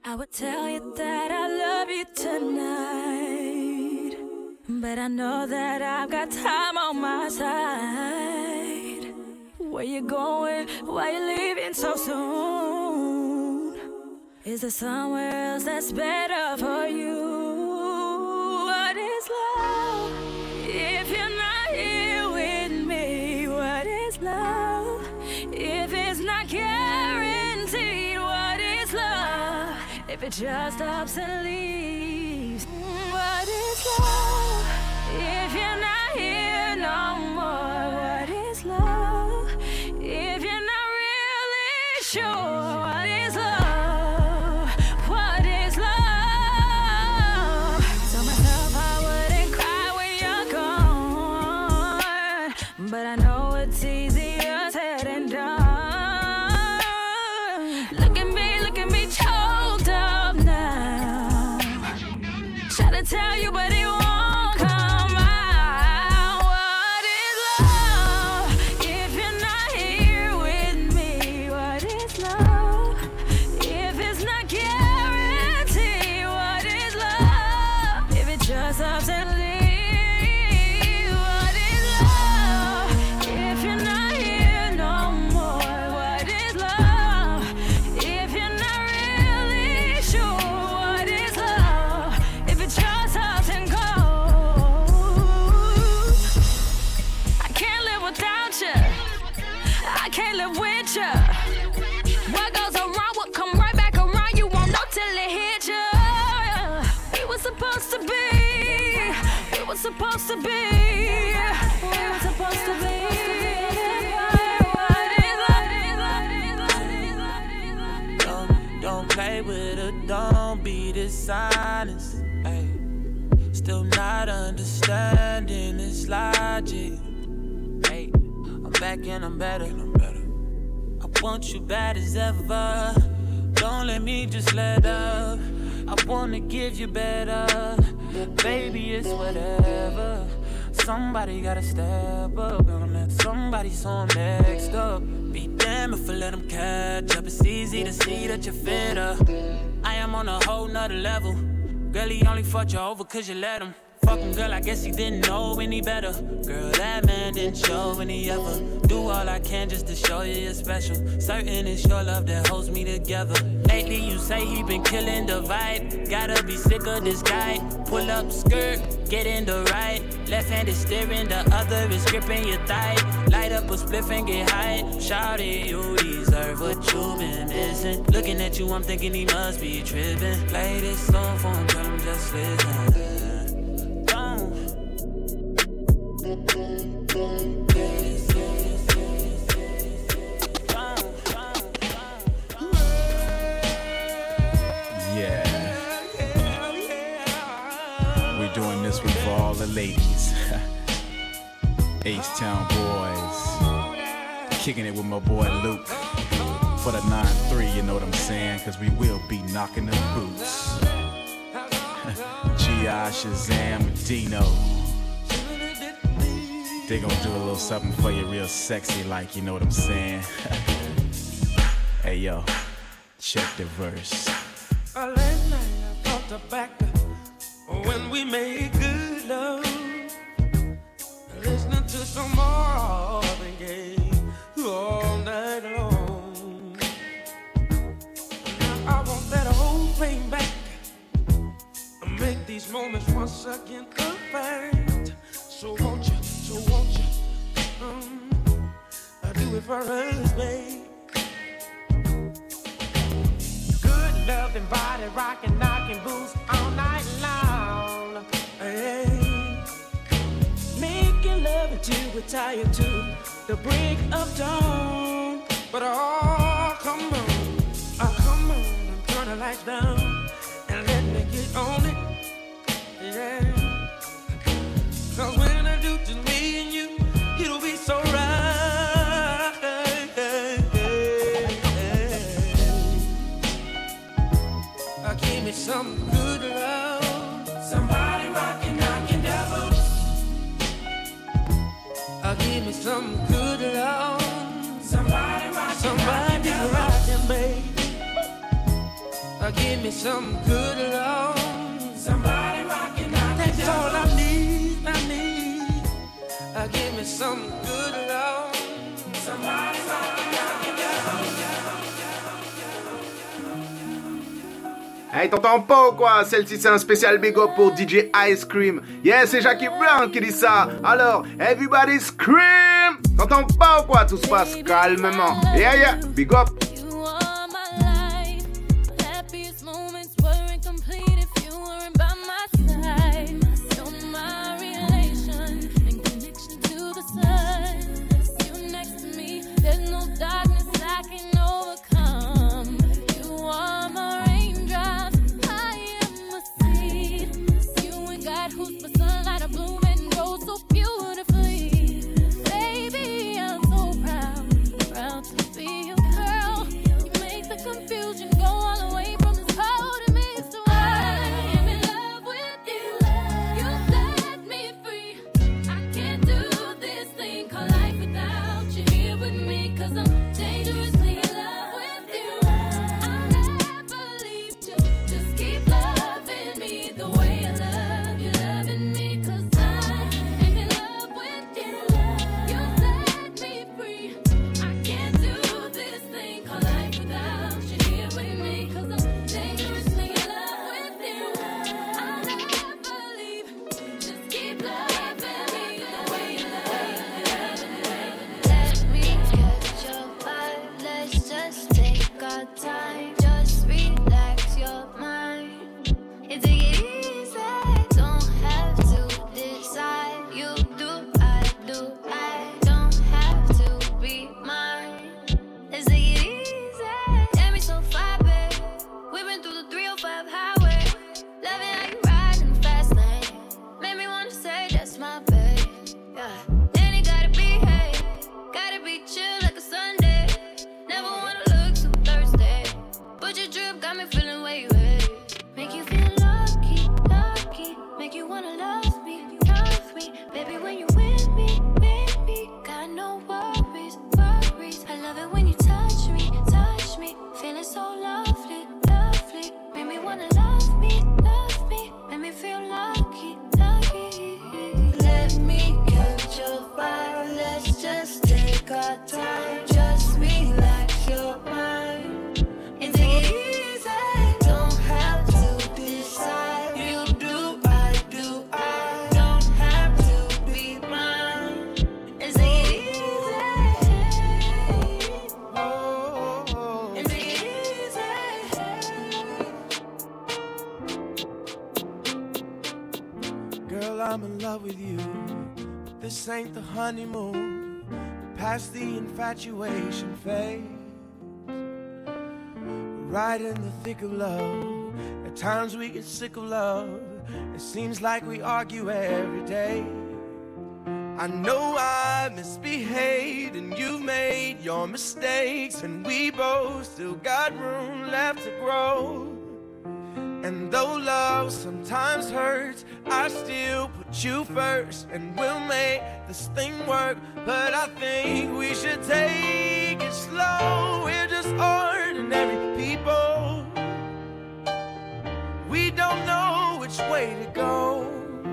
I would tell you that I love you tonight, but I know that I've got time on my side. Where you going? Why you leaving so soon? Is there somewhere else that's better for you? What is love if you're not here with me? What is love if it's not guaranteed? What is love if it just stops and leaves? What is love if you're not here no more? What is love if you're not really sure? What is love? What is love? Tell myself I wouldn't cry when you're gone, but I know it's easier said than done. Look at me choked up now. Try to tell you, but it won't come out. What is love if you're not here with me? What is love if it's not guaranteed? What is love if it just stops and leaves? What is love if you're not here no more? What is love if you're not really sure? What is love if it just stops and goes? I can't live without you. I can't live with you. What goes around will come right back around. You won't know till it hits you. We were supposed to be. We were supposed to be. We were supposed to be. Don't play with her, don't be dishonest. Ay. Still not understanding this logic. Hey, I'm back and I'm better. I want you bad as ever. Don't let me just let up. I wanna give you better. Baby, it's whatever. Somebody gotta step up. Gonna let somebody so I'm next up. Be damn if I let them catch up. It's easy to see that you're fitter. I am on a whole nother level. Girl, he only fucked you over cause you let him. Fuck him, girl, I guess he didn't know any better. Girl, that man didn't show any ever. Do all I can just to show you you're special. Certain it's your love that holds me together. Lately you say he been killing the vibe. Gotta be sick of this guy. Pull up skirt, get in the right. Left hand is steering, the other is gripping your thigh. Light up a spliff and get high. Shawty, you deserve what you've been missing. Looking at you, I'm thinking he must be tripping. Play this song for him, tell him just listen. Yeah. We're doing this one for all the ladies. H-Town boys. Kicking it with my boy Luke. For the 9-3, you know what I'm saying? Cause we will be knocking the boots. G.I. Shazam and Dino. They gon' do a little something for you real sexy like, you know what I'm saying? Hey yo, check the verse. Last night I thought back when we made good love, listening to some Marvin Gaye all night long. Now I want that whole thing back, make these moments once again perfect. So won't you, I do it for us, babe. Good loving, body rocking, knocking boots all night long. Hey. Making love until we're tired to the break of dawn. But come on, turn the lights down and let me get on it. Yeah. Cause when I do just me and you, it'll be so right. Give me some good love. Somebody rockin', knockin' devils. Give me some good love. Somebody give me some good love. Somebody rockin' out. That's all I need. Give me some good love. Somebody rockin' out. Hey, t'entends pas ou quoi? Celle-ci c'est un spécial big up pour DJ Ice Cream. Yeah, c'est Jackie Brown qui dit ça. Alors, everybody scream! T'entends pas ou quoi? Tout se passe calmement. Yeah, yeah, big up. Ain't the honeymoon, past the infatuation phase. Right in the thick of love. At times we get sick of love. It seems like we argue every day. I know I misbehaved and you've made your mistakes, and we both still got room left to grow. And though love sometimes hurts, I still put you first, and we'll make this thing work. But I think we should take it slow. We're just ordinary people. We don't know which way to go,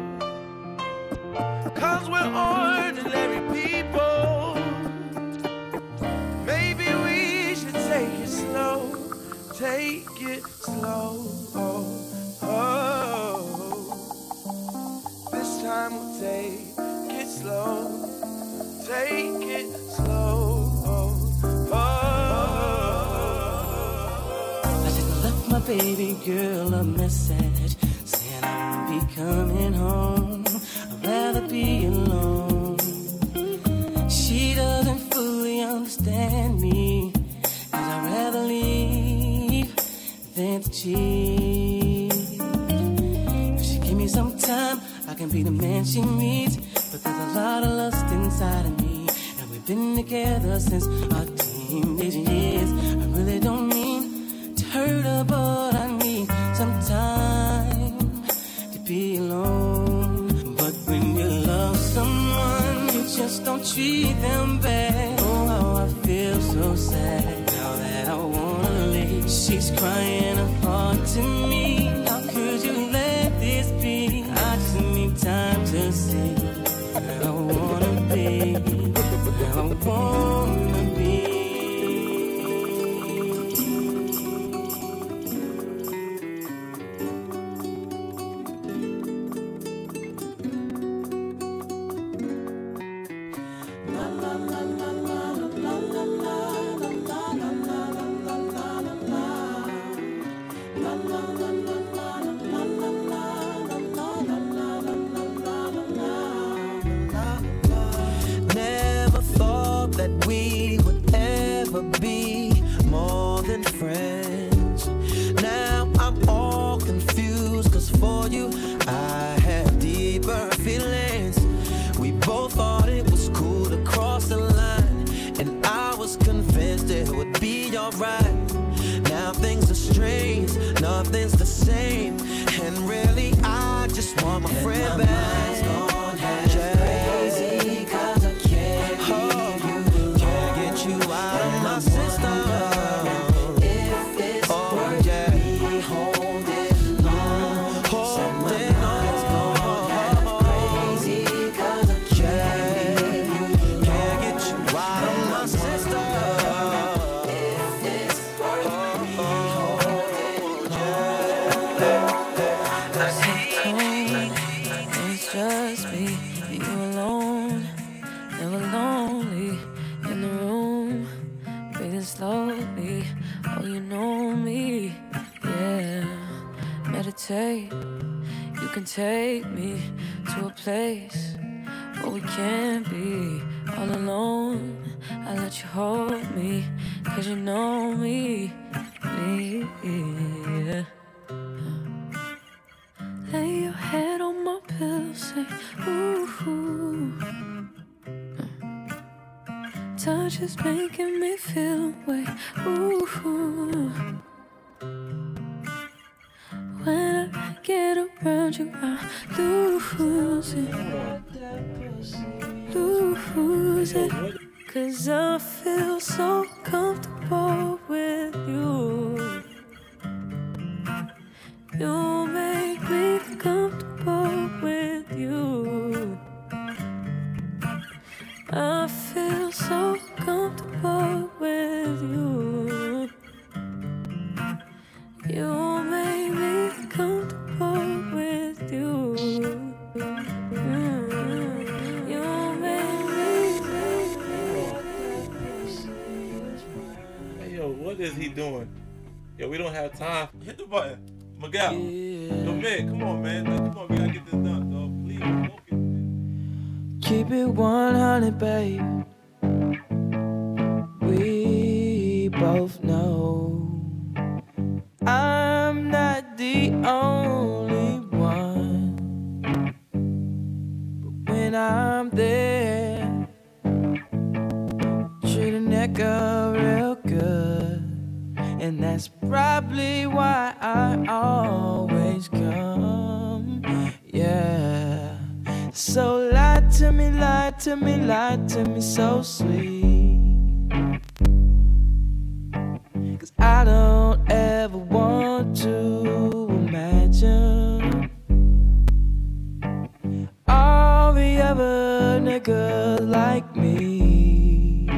'cause we're ordinary people. Maybe we should take it slow. Take it slow. This time we'll take it slow. Take it slow. I just left my baby girl a message saying I'll be coming home. I'd rather be alone. She doesn't fully understand me, 'cause I'd rather leave than to cheat. If she give me some time, I can be the man she needs. But there's a lot of lust inside of me, and we've been together since our teenage years. I really don't mean to hurt her, but I need some time to be alone. But when you love someone, you just don't treat them bad. Oh, how I feel so sad now that I wanna leave. She's crying her heart than friends. Now I'm all confused, cause for you I had deeper feelings. We both thought it was cool to cross the line, and I was convinced it would be alright. Now things are strange, nothing's the same, and really I just want my friend back. Crazy, cause I can't leave you, can't get you out of my system. If it's worth me holding on, crazy, cause I can't leave you, can't get you out of my system. If it's worth me holding on. It's just me and you alone, never lonely in the room, breathing slowly. Oh, you know me, yeah. Meditate, you can take me to a place where we can't be all alone. I let you hold me, cause you know me, yeah. Lay your head on my pillow, say, ooh. Touch is making me feel away, ooh. When I get around you, I lose it. Cause I feel so comfortable with you. You make me comfortable with you. I feel so comfortable with you. You make me comfortable with you. You make me. Hey, yo, what is he doing? Yo, we don't have time. Hit the button. Miguel. Yo, man, come on, man. Like, come on, we gotta get this done, dog. Please, focus, man. Keep it 100, babe. We both know I'm not the only one, but when I'm there, treat a nigga real good. And that's probably why I always come, yeah. So lie to me, lie to me, lie to me so sweet. Cause I don't ever want to imagine all the other niggas like me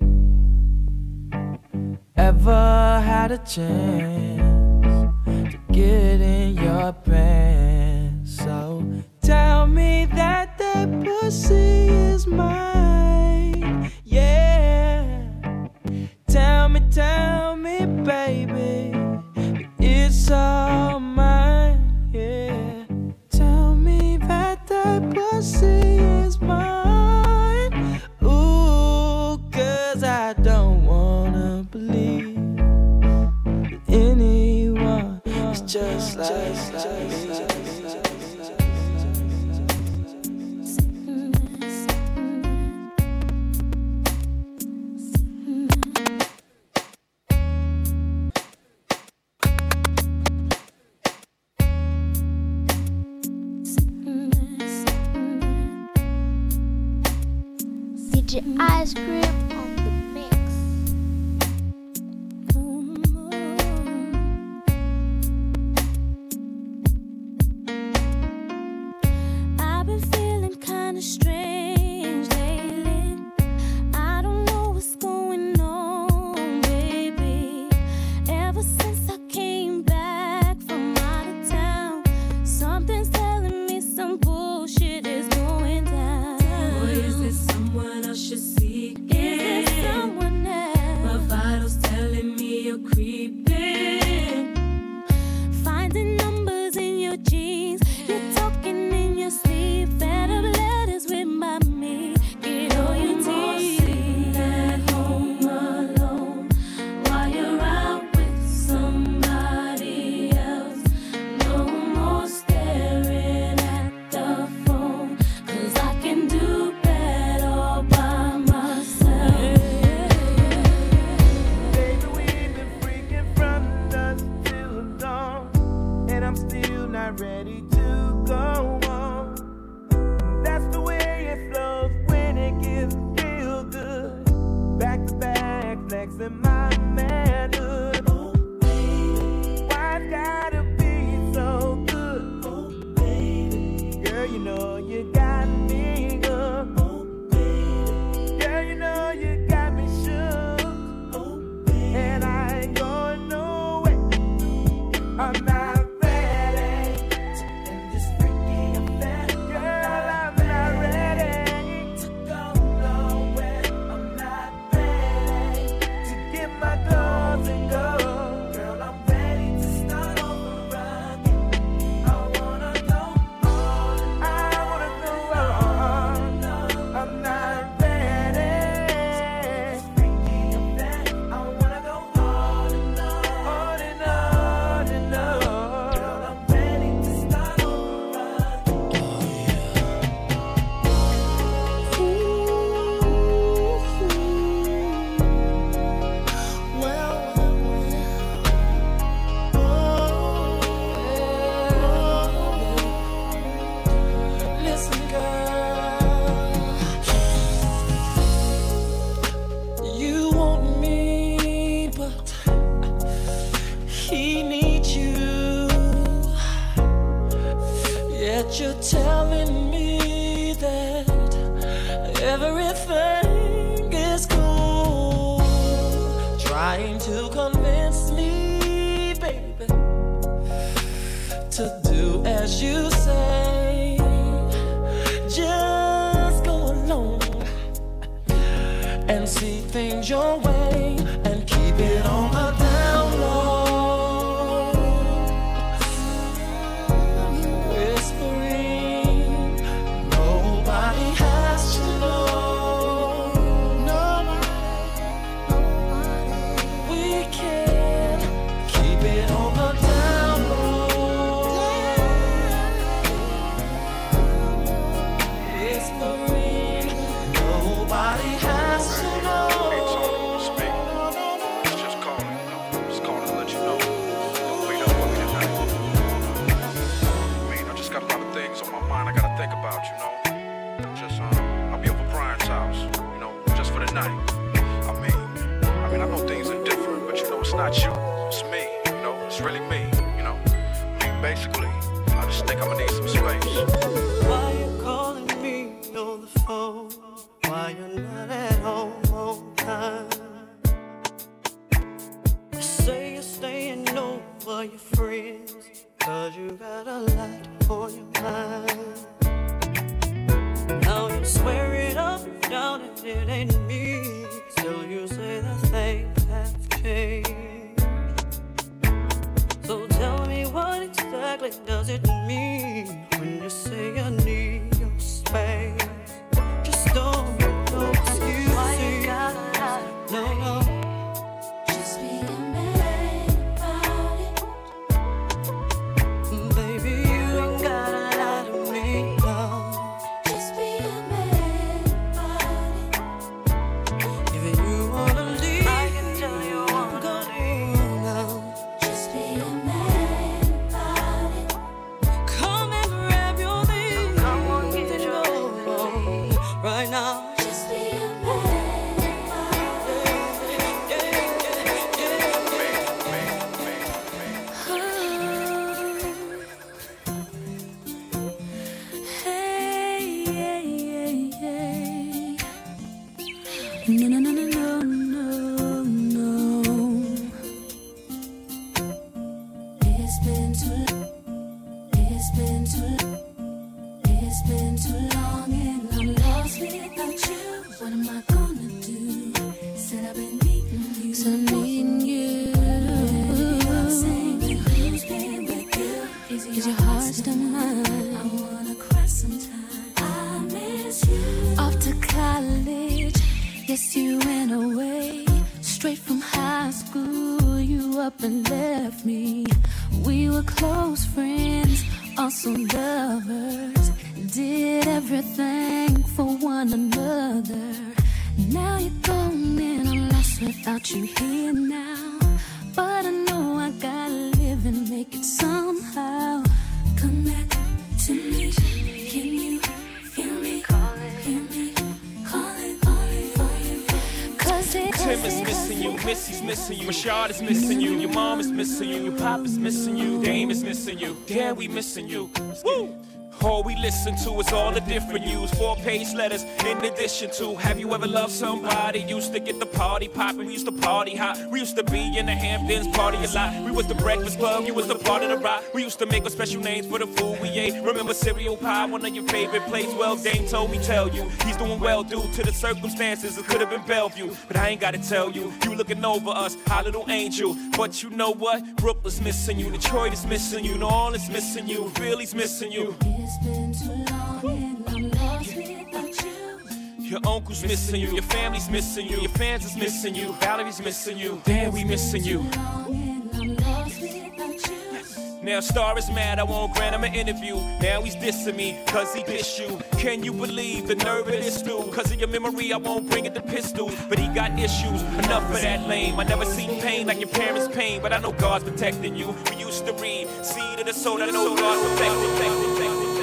ever had a chance to get in your pants. So tell me that that pussy is mine, yeah. Tell me, baby, it's all mine, yeah. Tell me that that pussy is mine, ooh, cause I don't wanna believe that anyone is just like me. DJ Ice Cream on the mix. I've been feeling kinda strange lately. I don't know what's going on, baby. Ever since I came back from out of town, something's telling me some bullshit is going down. Boy, is this someone I should seek? Is this someone else? My vitals telling me you're creeping. Finding numbers in your jeans, you're talking in your sleep. Fed up letters with my me. Get all your teeth. At home alone while you're out in my manhood. Oh, baby. Why's gotta be so good? Oh, baby. Girl, you know you got me good. Oh, baby. Girl, you know you got me shook. Oh, baby. And I ain't going nowhere. I'm not ready to end this freaky affair. Girl, I'm not ready to go nowhere. I'm not ready to get my clothes and go. Girl, I'm ready to start over again. I wanna go on. I wanna go on. I'm not ready. This freaky affair. I wanna go on and on and on and on. Girl, I'm ready to start over Listen, girl, you want me, but he needs you. Yet you're telling me that everything is cool. Trying to convince me, baby, to do as you say. Just go along and see things your way and keep it on the down low. Whispering, nobody has to know. We can keep it on the down low. Whispering, nobody has to know. It's me. It's just calling, just calling to let you know. Don't wait up on me tonight. I just got a lot of things on my mind I gotta think about, you know. I'll be over Brian's house, you know, just for the night. I mean, I know things are different, but you know, it's not you, it's me, you know, it's really me, you know. Basically, I just think I'ma need some space. Why you calling me on the phone? Why you're not at home on time? You say you're staying over your friends, 'cause you got a lot on your mind. Now you swear it up and down and it ain't me. Still you say that things have changed. So tell me what exactly does it mean when you say I need your space? Just don't make no excuses. Why you gotta lie to me? No. Just be a man about it. Baby, you ain't gotta lie to me, no. Just be a man about it. If you wanna leave, I can tell you wanna leave now. Just be a man about it. Come and grab your things. Come on, get your things right now. Just be a man about No, no, no, no, no, no, no. It's been too long. It's been too long. It's been too long and I'm lost without you. What am I gonna do? Said I've been needing you. So I'm needing you. Saying who's been with you? Is your heart still mine? I wanna cry sometime. I miss you. Off to college. Yes, you went away, straight from high school, you up and left me. We were close friends, also lovers, did everything for one another. Now you're gone and I'm lost without you here now. But I know I gotta live and make it somehow. Come back to me, can you feel me? Hear me calling for you? 'Cause Tim is missing you, Missy's missing you, Rashad is missing you, your mom is missing you, your pop is missing you, Dame is missing you, Dad, we missing you. Woo! All we listen to is all the different news, 4-page letters in addition to. Have you ever loved somebody? Used to get the party poppin', we used to party hot. We used to be in the Hamptons, party a lot. We was the Breakfast Club, you was the part of the rock. We used to make a special names for the food we ate. Remember cereal pie, one of your favorite places? Well, Dame told me tell you, he's doing well due to the circumstances. It could have been Bellevue, but I ain't gotta tell you. You looking over us, our little angel. But you know what? Brooklyn's missing you, Detroit is missing you, New Orleans missing you, Philly's missing you. It's been too long and I'm lost without you. Your uncle's missing you, your family's missing you, your fans is missing you, Valerie's missing you, damn, we missing you. Now Star is mad, I won't grant him an interview. Now he's dissing me, cause he dissed you. Can you believe the nerve of this dude? Cause of your memory, I won't bring it to pistols. But he got issues, enough of that lame. I never seen pain like your parents' pain, but I know God's protecting you. We used to read, seed of the soul, I know God's protecting.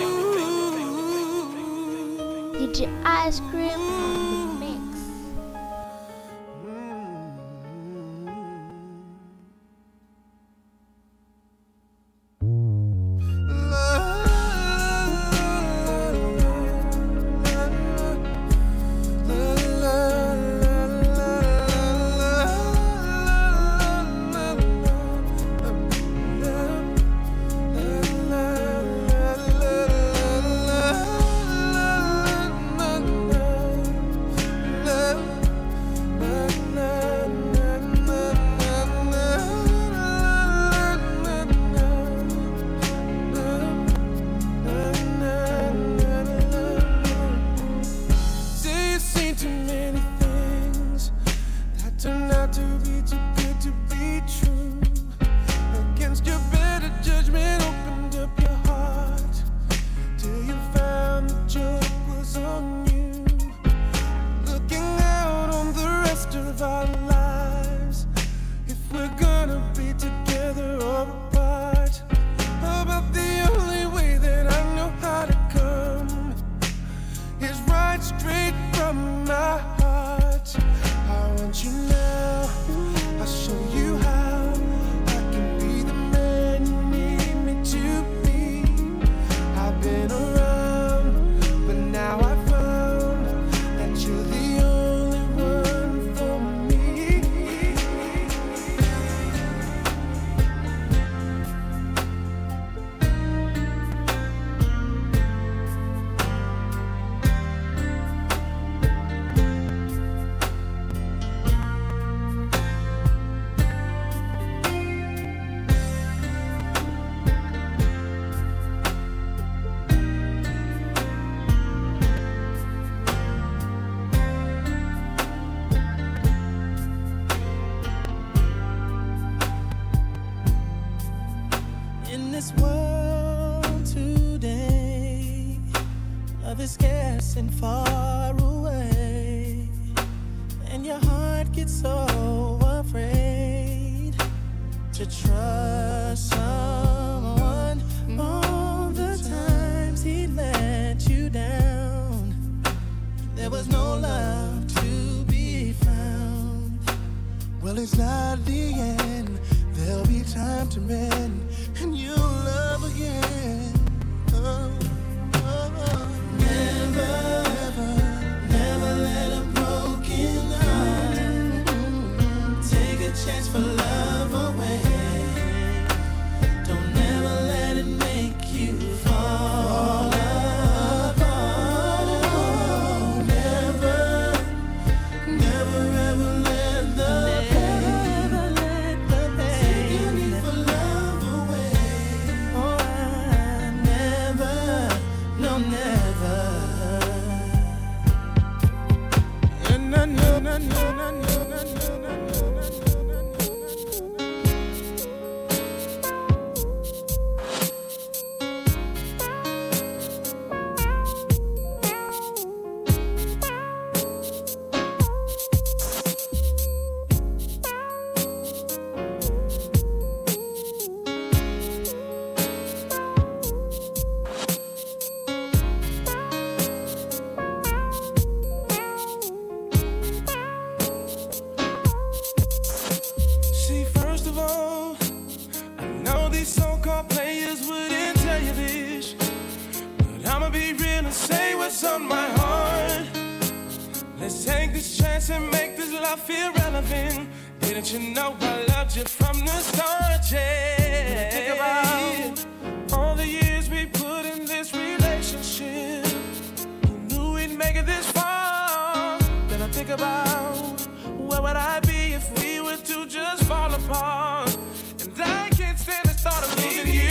DJ Ice Cream on the mix. And far away, and your heart gets so afraid to trust someone. All the times he let you down, there was no love to be found. Well, it's not the end, there'll be time to mend, and you'll love again. Never let a broken heart take a chance for love away. Don't never let it make you fall apart. Oh, never ever let the pain take your need for love away. Oh, I never, no, never. on my heart. Let's take this chance and make this love feel relevant. Didn't you know I loved you from the start, yeah? Think about all the years we put in this relationship. Who knew we'd make it this far? Then I think about where would I be if we were to just fall apart? And I can't stand the thought of losing you.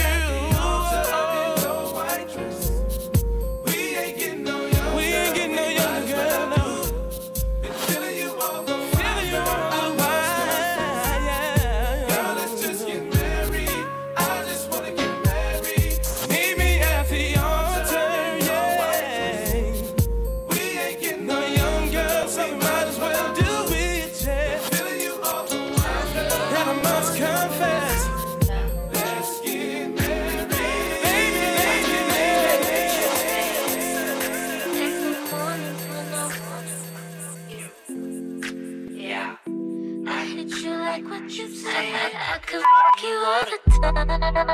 I could fuck you all the time.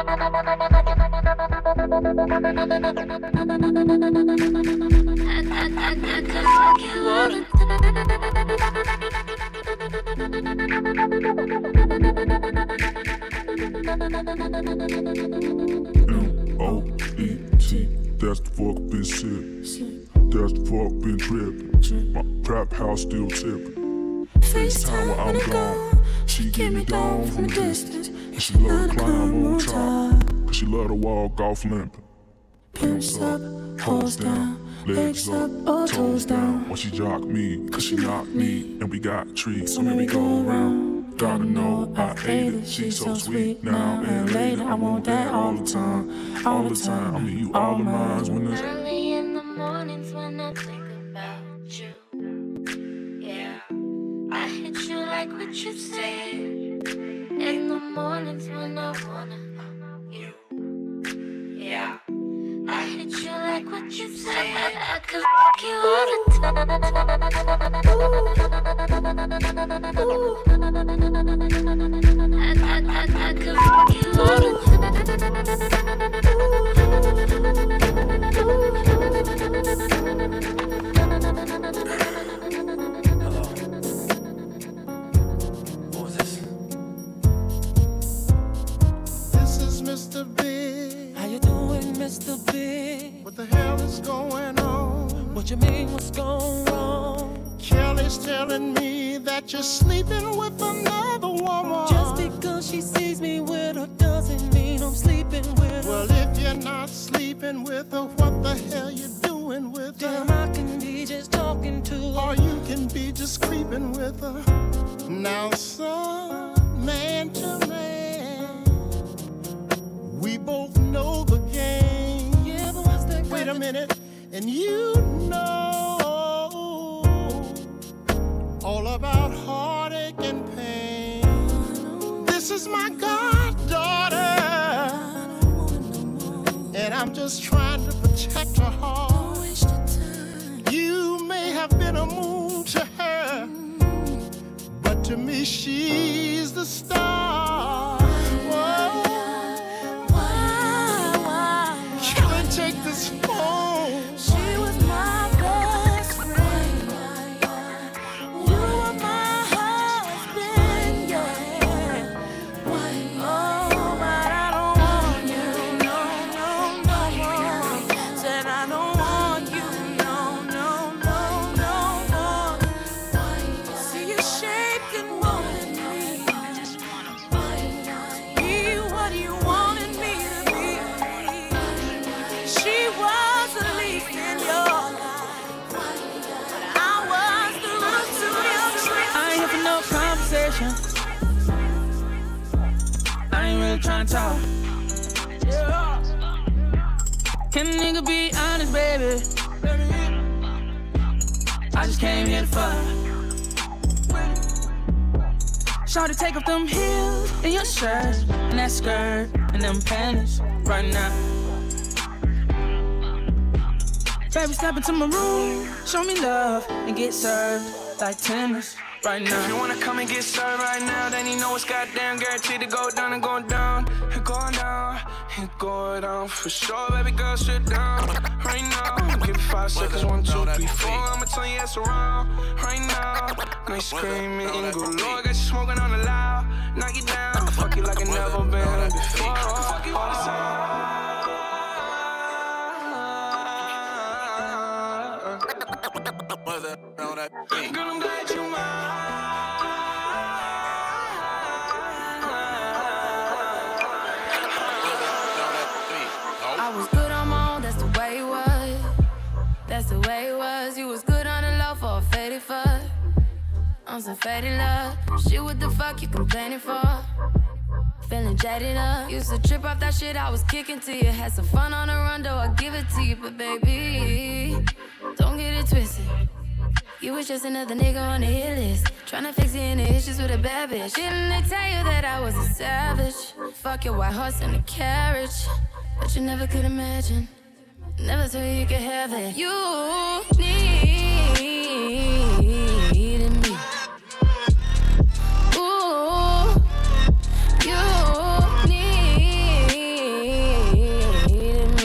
I could fuck you all the M-O-E-T, that's the fuck been shit. That's the fuck been trippin'. My trap house still tippin'. FaceTime when I'm gone. She get me down from a distance, and she love to climb on top, cause she love to walk off limping. Pimps up, hoes down, legs up, toes down. When she jock me, cause she knock me, and we got trees, so maybe go around. Gotta know I ate it, she's so sweet now and later. I want that all the time, all the time. I mean you all of mine when it's early in the mornings when I think about you. Yeah, I hit you like what you said. In the mornings when I wanna you. Yeah, I hit you like what you said. I could fuck you all the time. I could fuck you all the Mr. Big. How you doing, Mr. Big? What the hell is going on? What you mean, what's going wrong? Kelly's telling me that you're sleeping with another woman. Just because she sees me with her doesn't mean I'm sleeping with her. Well, if you're not sleeping with her, what the hell you doing with her? Damn, I can be just talking to her. Or you can be just creeping with her. Now, son, man to man, we both know the game. Yeah, but what's that? Wait a minute, and you know all about heartache and pain. This is my goddaughter, and I'm just trying to protect her heart. You may have been a moon to her, but to me she's the star. Whoa. Take this phone. She was my best friend. You were my husband, yeah. Oh, but I don't want you, no, no, no more. Said I don't want you, no, no, no, no more. See you shaking, wanting me. I just wanna be what you wanted me to be. She was a leaf in your life, but I was the root to your tree. I ain't here for no conversation. I ain't really trying to talk. Yeah. Can a nigga be honest, baby? I just came here to fuck. Shawty, take off them heels and your shirt and that skirt and them panties right now. Baby, step into my room, show me love and get served like tennis right now. If you wanna come and get served right now, then you know it's goddamn guaranteed to go down and go down. It going down, it going down for sure. Baby girl, sit down right now. Give it 5 seconds, 1, 2, 3, 4. I'ma turn your ass around right now. Now you screaming and go low. Got you smoking on the loud. Knock you down, fuck you like it never been before. I can fuck you all the time. Girl, I'm glad you mine. I was good on my own, that's the way it was. That's the way it was. You was good on the low for a faded fuck. On some faded love. Shit, what the fuck you complaining for? Feeling jaded up. Used to trip off that shit I was kicking to you. Had some fun on the run, though I give it to you. But baby, don't get it twisted. You was just another nigga on the hit list. Tryna fix any issues with a bad bitch. Didn't they tell you that I was a savage? Fuck your white horse and a carriage. But you never could imagine. Never thought you could have it. You needed me. Ooh, you needed me.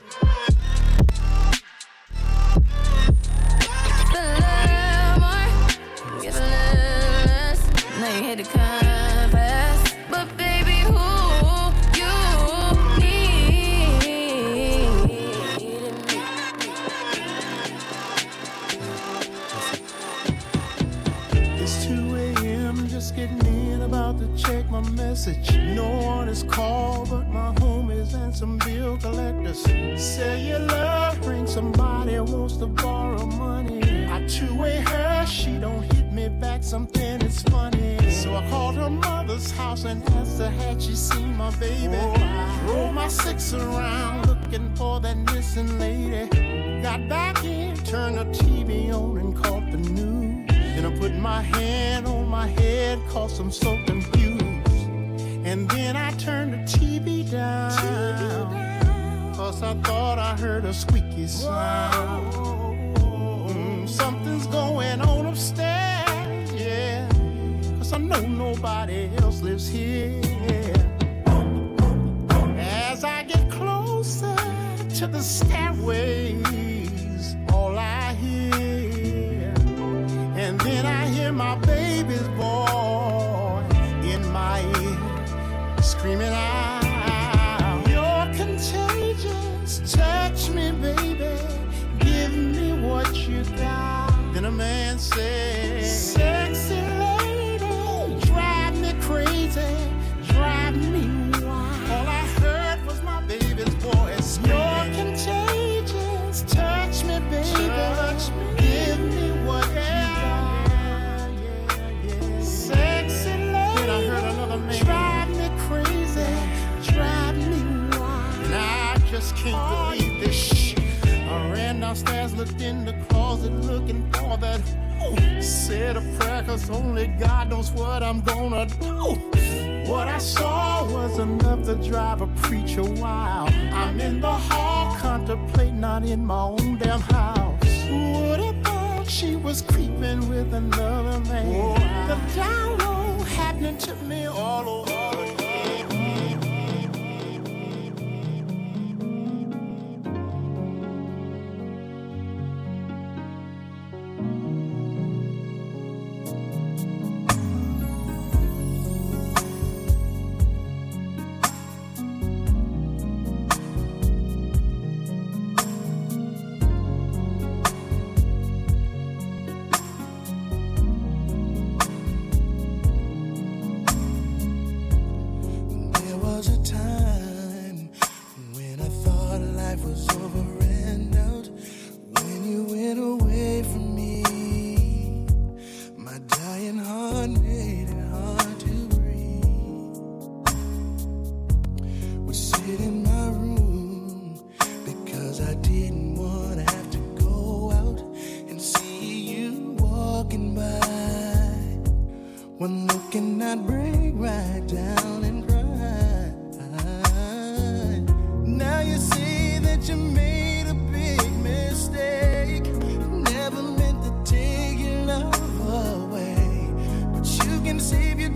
Hit the canvas, but baby, who you needed me. It's 2 a.m. just getting in, about to check my message. No one is called but my homies and some bill collectors. Cellular ring, somebody wants to borrow money. I two-way her, she don't hit me back, something is funny. So I called her mother's house and asked her had she seen my baby. I rolled my 6 around looking for that missing lady. Got back in, turned the TV on and caught the news. Then I put my hand on my head, cause I'm so confused. And then I turned the TV down, cause I thought I heard a squeaky sound. Something's going on upstairs, yeah, cause I know nobody else lives here. As I get closer to the stairways, all I hear, and then I hear my baby's voice in my ear, screaming out, you're contagious, touch me baby, give me what you got. Then a man said, sexy lady, drive me crazy, drive me wild. All I heard was my baby's voice, you're contagious, touch me baby, touch me. Give me what you got. Sexy lady, then I heard another man, drive me crazy, drive me wild. And I just can't believe this shit. I ran downstairs, looked in the closet, looking for that. Said a prayer, cause only God knows what I'm gonna do. What I saw was enough to drive a preacher wild. I'm in the hall, contemplating, not in my own damn house. Would have thought she was creeping with another man. The download happening to me all over again.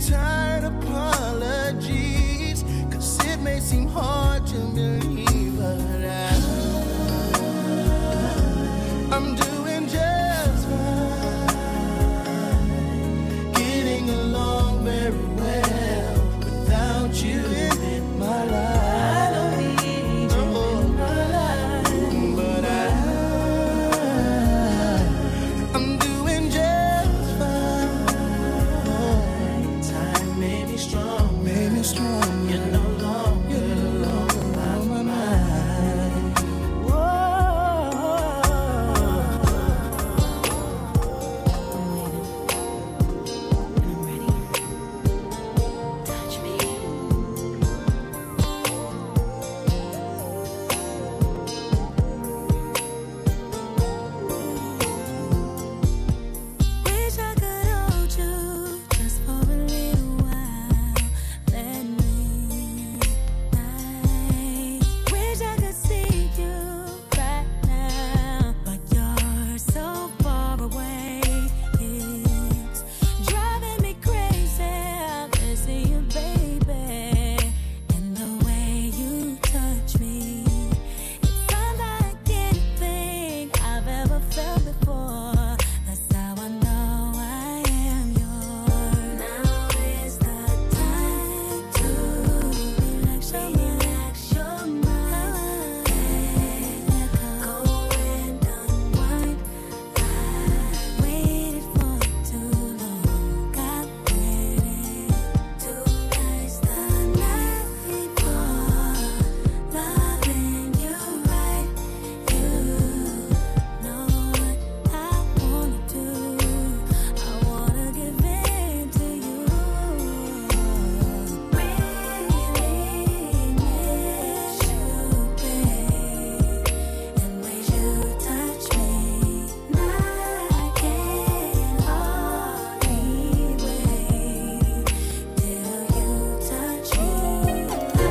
tired apologies, 'cause it may seem hard to believe, but I'm doing just fine, getting along very well without you in my life. I don't need you in my life, but I'm doing just fine. Time made me strong, You're no longer on my mind. Wish I could hold you just for a little while. Let me night. Wish I could see you right now, but you're so far away. It's driving me crazy. I'm missing you, baby, and the way you touch me. It's unlike anything I've ever felt before. That's how I know I am yours. Now is the time to relax your mind. Go and unwind. I waited for too long. I waited. Tonight's the night for loving you right. You know what I wanna do. I wanna give in to you. Really miss you, babe, and ways you touch me. Now I can't hardly wait till you touch me. I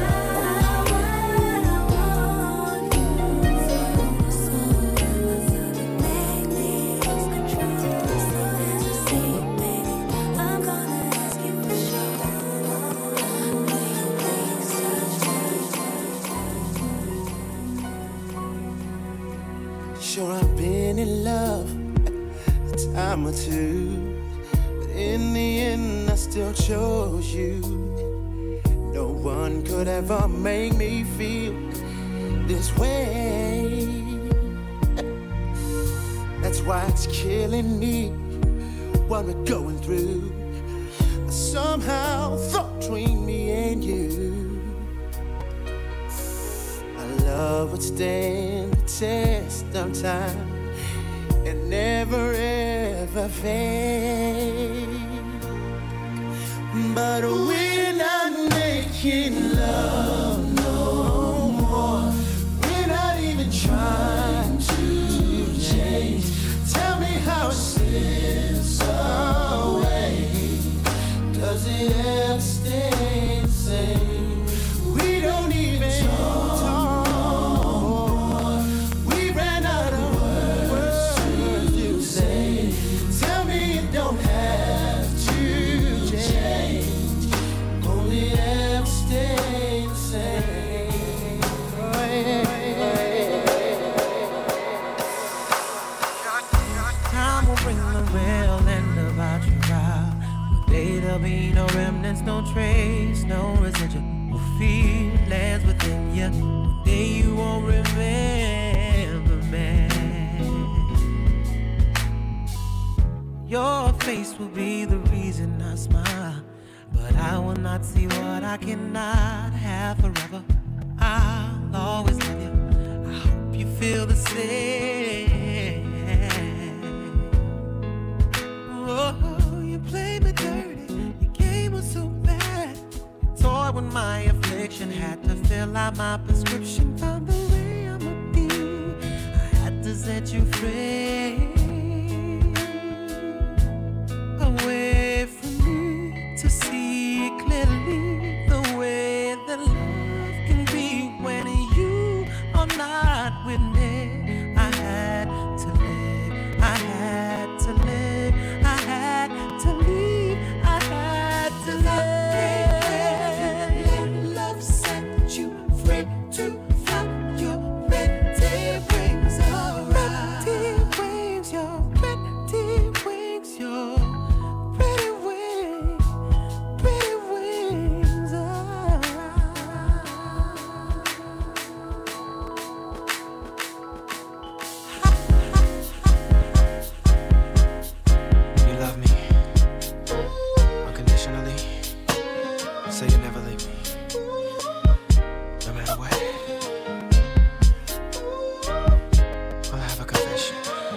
want you so make me lose control. So as you see, baby, I'm gonna ask you for sure. Will you please touch me? Sure, I've been in love a time or two, but in the end I still chose you. No one could ever make me feel this way. That's why it's killing me what we're going through. I somehow thought between me and you, our love would stand the test of time and never ever fade. But we're not making love no more. We're not even trying to change. Tell me how it slips away. Does it ever stay the same? We don't even talk. We ran out of words to say. Tell me it don't have to change. Only ever stay the same. Time will bring the real end about your trial. But there'll be no remnants, no trace, no residual feelings within you. One day you won't remember me. Your face will be the reason I smile, but I will not see what I cannot have forever. I'll always love you. I hope you feel the same. Oh, you played me dirty. Your game was so bad. You toyed with my affliction. Had to fill out my prescription. Found the way I'ma be. I had to set you free. Away from me to see clearly the way that love can be when you are not with me. I had to live. I had to live. I had to leave. I had to live. you never leave me, no matter what. I'll have a confession.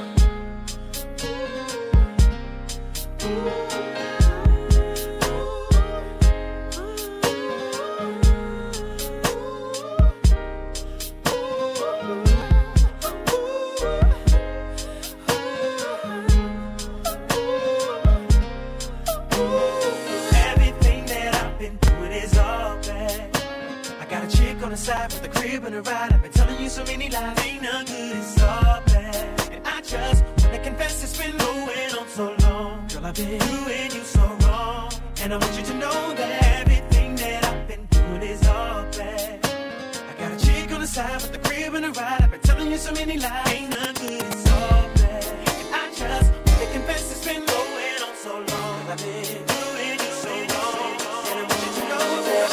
Side with the crib and a ride. I've been telling you so many lies. Ain't none good, it's all bad. And I just wanna confess it's been going on so long. Girl, I've been doing you so wrong. And I want you to know that everything that I've been doing is all bad. I got a chick on the side with the crib and a ride. I've been telling you so many lies. Ain't none good, it's all bad. And I just wanna confess it's been going on so long. Girl, I've been doing you so wrong. And I want you to know that.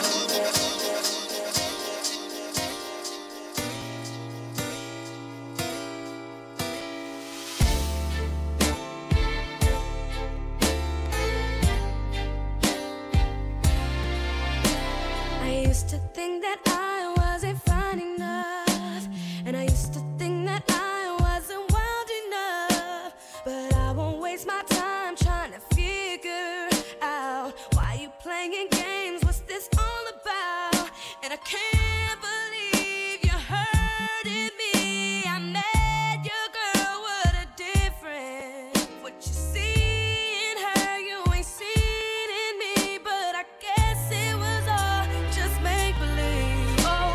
I used to think that I wasn't fine enough, and I used to think that I wasn't wild enough. But I won't waste my time trying to figure out why you playing games. What's this all about? And I can't believe you hurting me. I met your girl, what a difference. What you see in her, you ain't seen in me. But I guess it was all just make believe. Oh,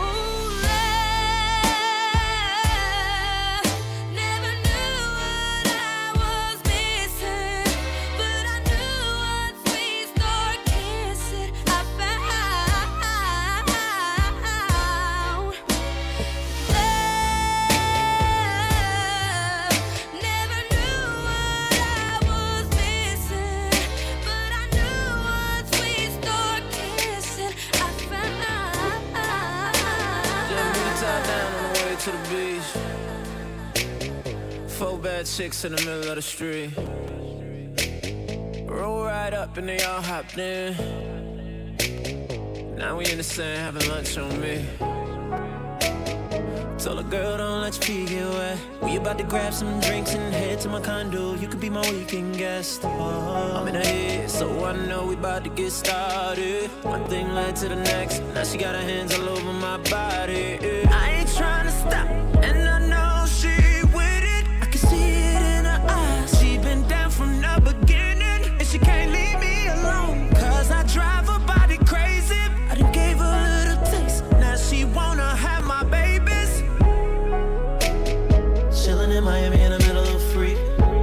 love, never knew what I was missing, but I knew once we start kissing, I found love. Never knew what I was missing, but I knew once we start kissing, I found Just me top down on the way to the beach. 4 bad chicks in the middle of the street. Roll right up and they all hopped in. Now we in the sand having lunch on me. Told a girl don't let your feet get wet. We about to grab some drinks and head to my condo. You could be my weekend guest. I'm in her head, so I know we about to get started. One thing led to the next. Now she got her hands all over my body. I ain't trying to stop, and I know she with it. I can see it in her eyes. She been down from the beginning, and she can't leave me alone. Cause I drive her body crazy. I done gave her a little taste. Now she wanna have my babies. Chillin' in Miami in the middle of free.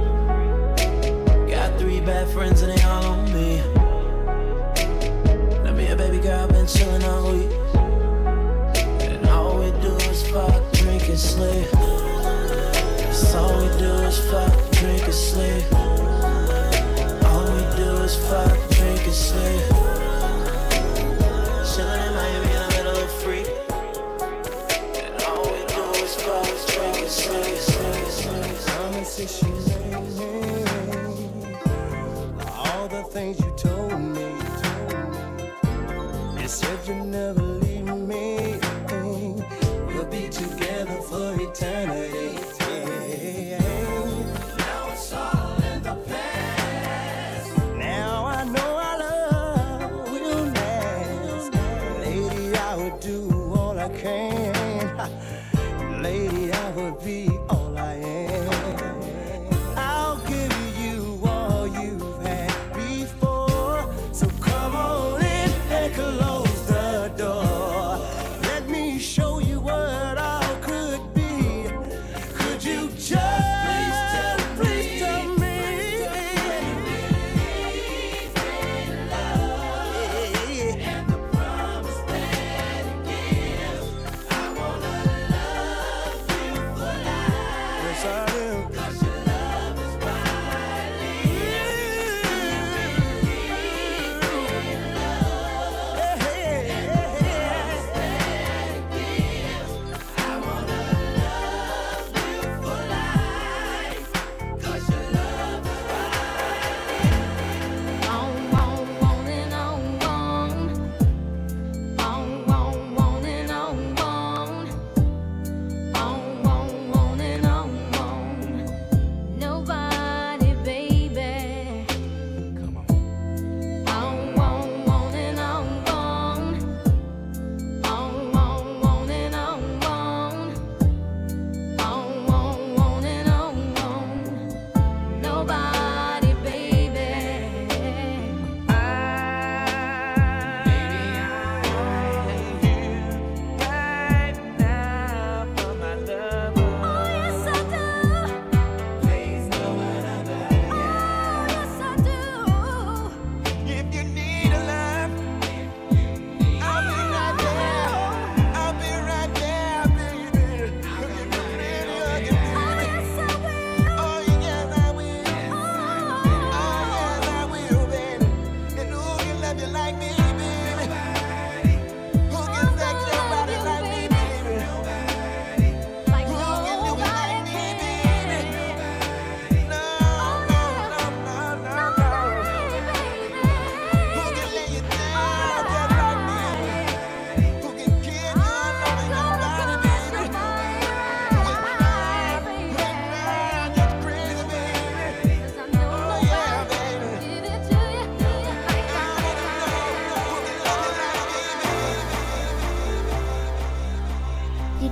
Got 3 bad friends and they all on me. Now me and baby girl been chillin' all week, and all we do is fuck, drink and sleep. That's all we do is fuck, drink and sleep. All we do is fuck, drink and sleep. Chillin' in Miami in the middle of free, and all we do is fuck, drink and sleep. Come and say she made me. All the things you told me. You said you'd never leave me. We'll be together for eternity. Now it's all in the past. Now I know our love will last. Lady, I would do all I can. Lady, I would be all I am. I'll give you all you've had before. So come on in and close the door. Let me show you what I could be. Could you just please tell me? And the promise that it gives. I wanna love you for life.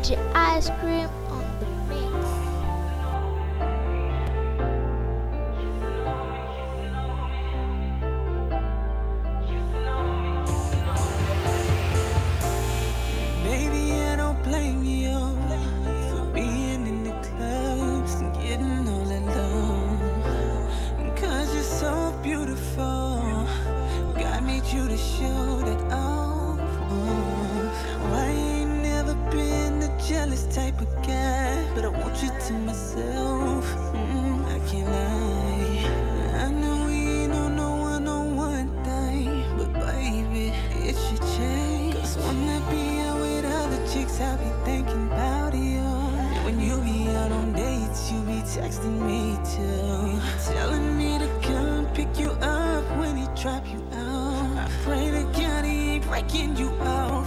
DJ Ice Cream on the mix. Baby, I don't blame you for being in the clubs and getting all alone. 'Cause you're so beautiful. God made you to show that off. I ain't never been the jealous type of guy, but I want you to myself. I can't lie. I know we ain't on no one-on-one thing, but baby, it should change. 'Cause when I be out with other chicks, I be thinking about you. When you be out on dates, you be texting me too, telling me to come pick you up when he drop you out. I pray to God he ain't breaking you out.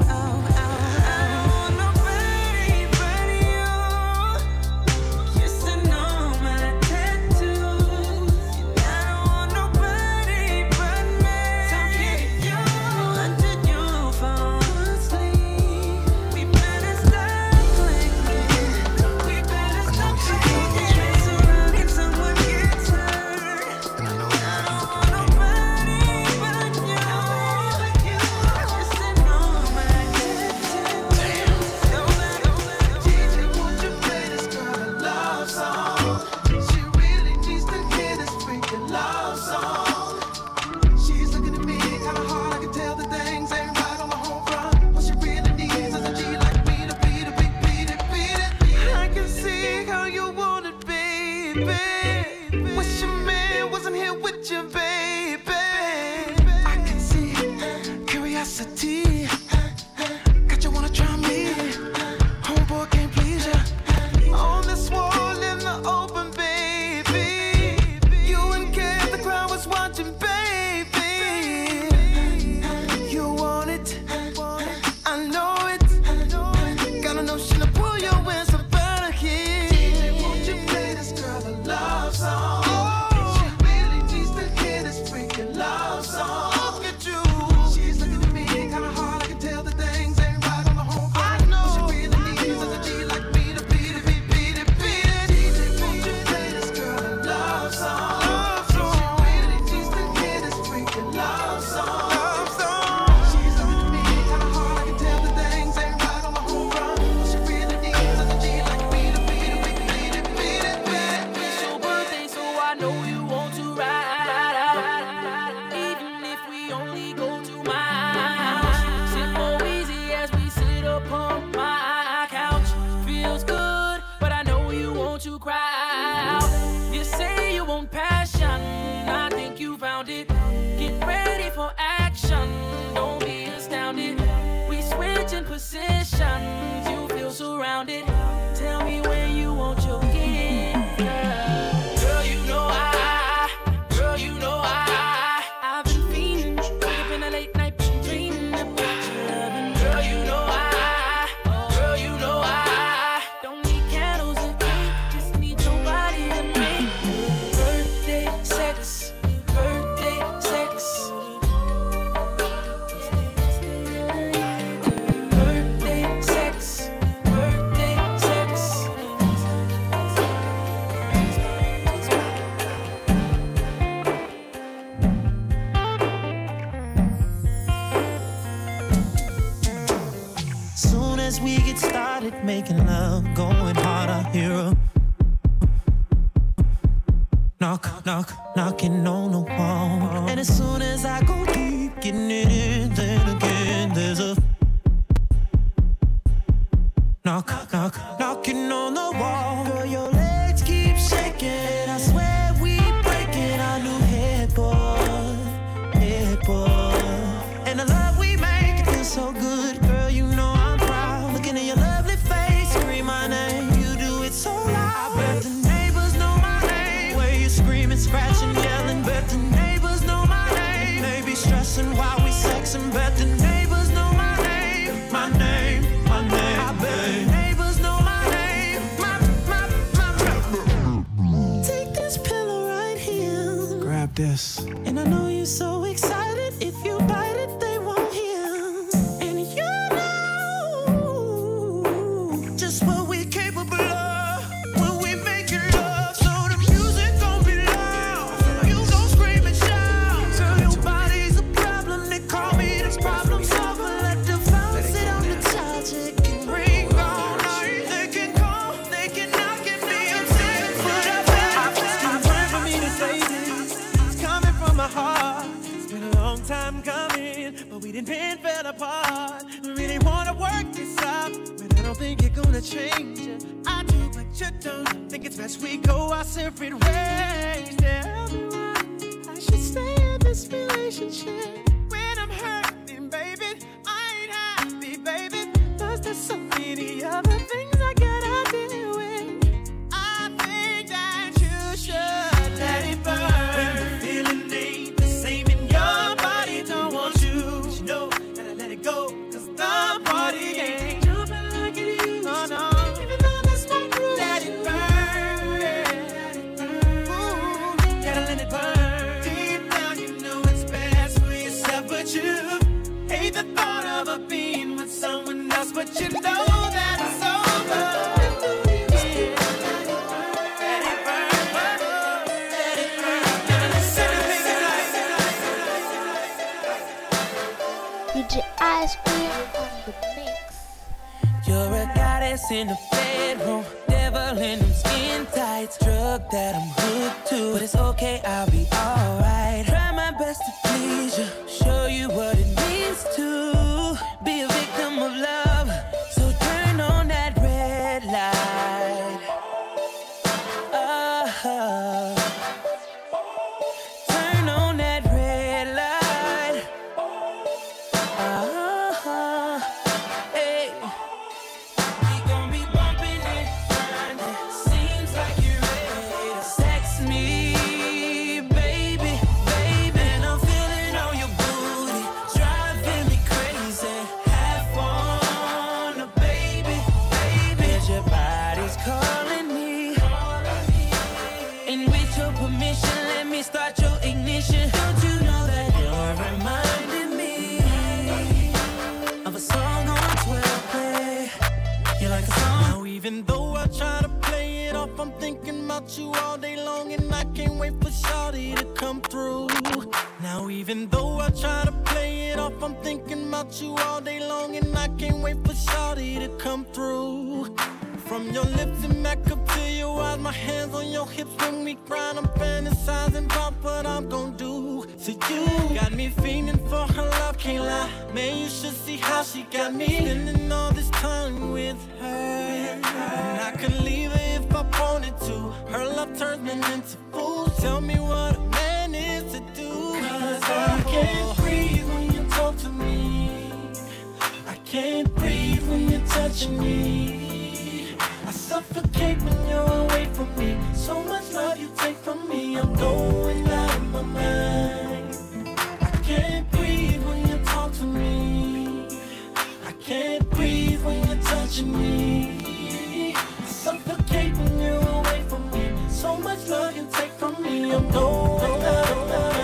Making love, going hard, I hear a knock, knock, knocking on the wall. And as soon as I go deep, getting it in, then again there's a knock, knock, knocking on the wall. Girl, your legs keep shaking, I swear we breaking our new headboard. And the love we make, it feels so good, girl, you know I'm proud. Looking at your lovely face, scream my name, you do it so loud. I bet the neighbors know my name, where you screaming, scratching, yelling. Bet the neighbors know my name, maybe stressing while we sexing. Bet the neighbors apart. Really wanna work this out, but I don't think you're gonna change it. I do, but you don't. Think it's best we go our separate ways. Tell me why I should stay in this relationship when I'm hurting, baby. I ain't happy, baby. Plus there's so many other things I gotta deal with. I think that you should let it burn. When the feeling ain't the same in your body, don't want you. But you know that I let it go, cause the party ain't jumping like it used to. No, even though that's my groove. Let it burn, let it burn. Ooh, gotta let it burn. Deep down you know it's best for yourself, but you hate the thought of her being with someone else, but you know that it's over. DJ Ice Cream on the mix. You're a goddess in the bedroom, devil in them skin tights, drug that I'm hooked to. But it's okay, I'll be alright. Try my best to please you, show you what it means to be a victim of love. So turn on that red light. Turn on that red light. Hey. We gon' be bumping it, grinding. Seems like you're ready to sex me, baby, baby. And I'm feeling on your booty, driving me crazy. Have fun, baby, baby. 'Cause your body's calling me. And with your permission, let me start your ignition. Don't you know that you're reminding me of a song on 12 play? You like the song? Now even though I try to play it off, I'm thinking about you all day long, and I can't wait for Shawty to come through. Now even though I try to play it off, I'm thinking about you all day long, and I can't wait for Shawty to come through. From your lips and back up to your eyes, my hands on your hips when we grind. I'm fantasizing about what I'm gon' do. So you got me fiending for her love, can't lie. Man, you should see how she got me spending all this time with her. And I could leave her if I wanted to. Her love turns me into fool. Tell me what a man is to do. 'Cause I can't breathe when you talk to me. I can't breathe when you're touching me. I suffocate when you're away from me. So much love you take from me, I'm going out of my mind. I can't breathe when you talk to me. I can't breathe when you're touching me. I suffocate when you're away from me. So much love you take from me, I'm going out of my mind.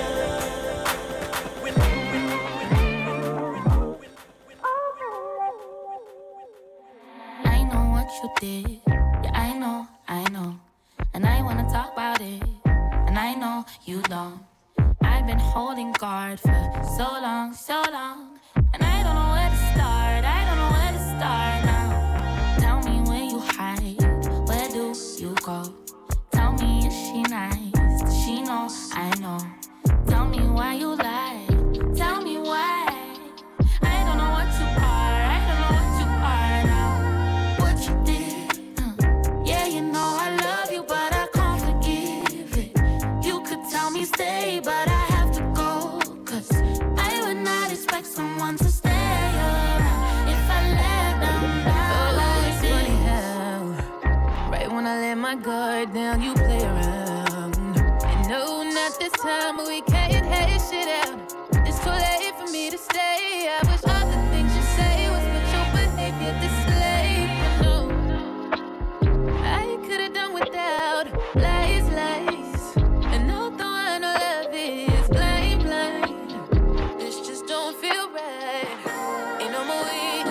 I know what you did. Yeah, I know. And I wanna talk about it. And I know you don't. I've been holding guard for so long. And I don't know where to start. Now. Tell me where you hide. Where do you go? Tell me, is she nice? Does she know I know? Tell me why you lie. Tell me why. I don't know what you are. Now. What you did. Yeah, you know I love you, but I can't forgive it. You could tell me stay, but I have to go. 'Cause I would not expect someone to stay around if I let them down. Like funny how right when I let my guard down, you play around. I know not this time, but we can't hate shit out. It's too late for me to stay. I wish all the things you say was what your behavior displayed. No, I could've done without lies. And all the one I love is blind. This just don't feel right. Ain't no more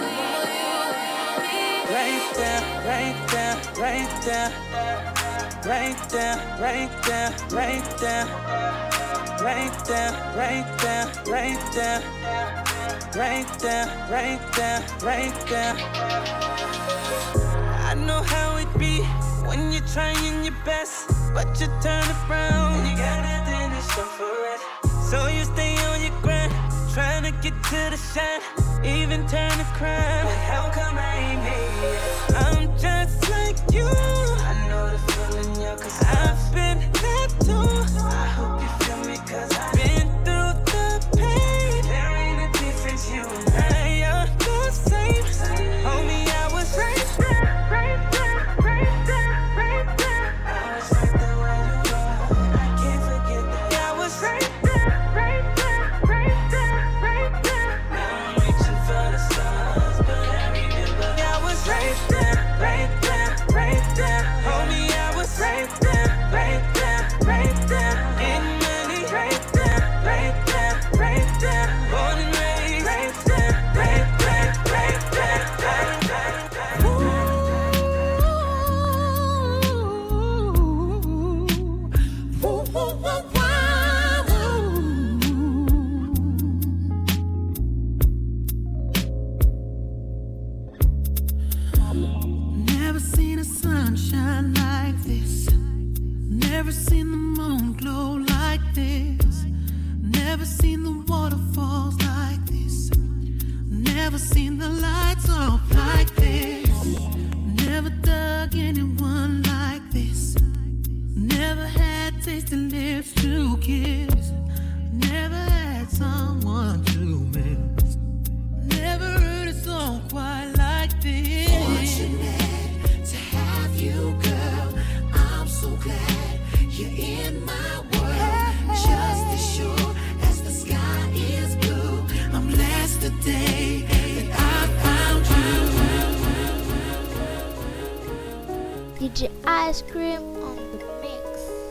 Right there. I know how it be when you're trying your best, but you turn around and you got nothing to show for it. So you stay on your grind, trying to make it to the shine, even turn this crime. But how come I ain't made it? I'm just like you. I know the feeling, yeah, cause I've been there too. I hope you feel me, cause I've been through the pain. There ain't a difference, you and I are the same. Homie, I was right there, right there, right there, right there. I was right there where you were, I can't forget that. I was right there, right there, right there, right there. Now I'm reaching for the stars, but I remember I was right there, right there, right there. Homie, I was right there, right there, right there. Getting money, right there, right there, right there. Born and raised, right there, right there, right there, right there. Ooh, ooh, ooh, ooh, Never seen a sunshine like this. Never seen the moon glow like this. Never seen the waterfalls like this. Never seen the lights off like this. Never dug anyone like this. Never had tasty lips to kiss. Never had someone to miss. Never heard a song quite like this. Fortunate to have you, girl. I'm so glad you're in my world. Just as sure as the sky is blue, I'm blessed today that I found you. DJ Ice Cream on the mix.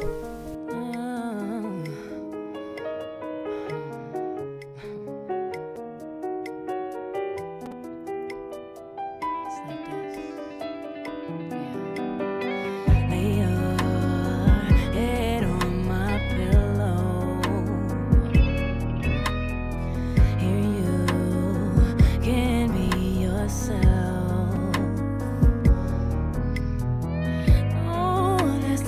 Lay your head on my pillow. Here you can be yourself. No, there's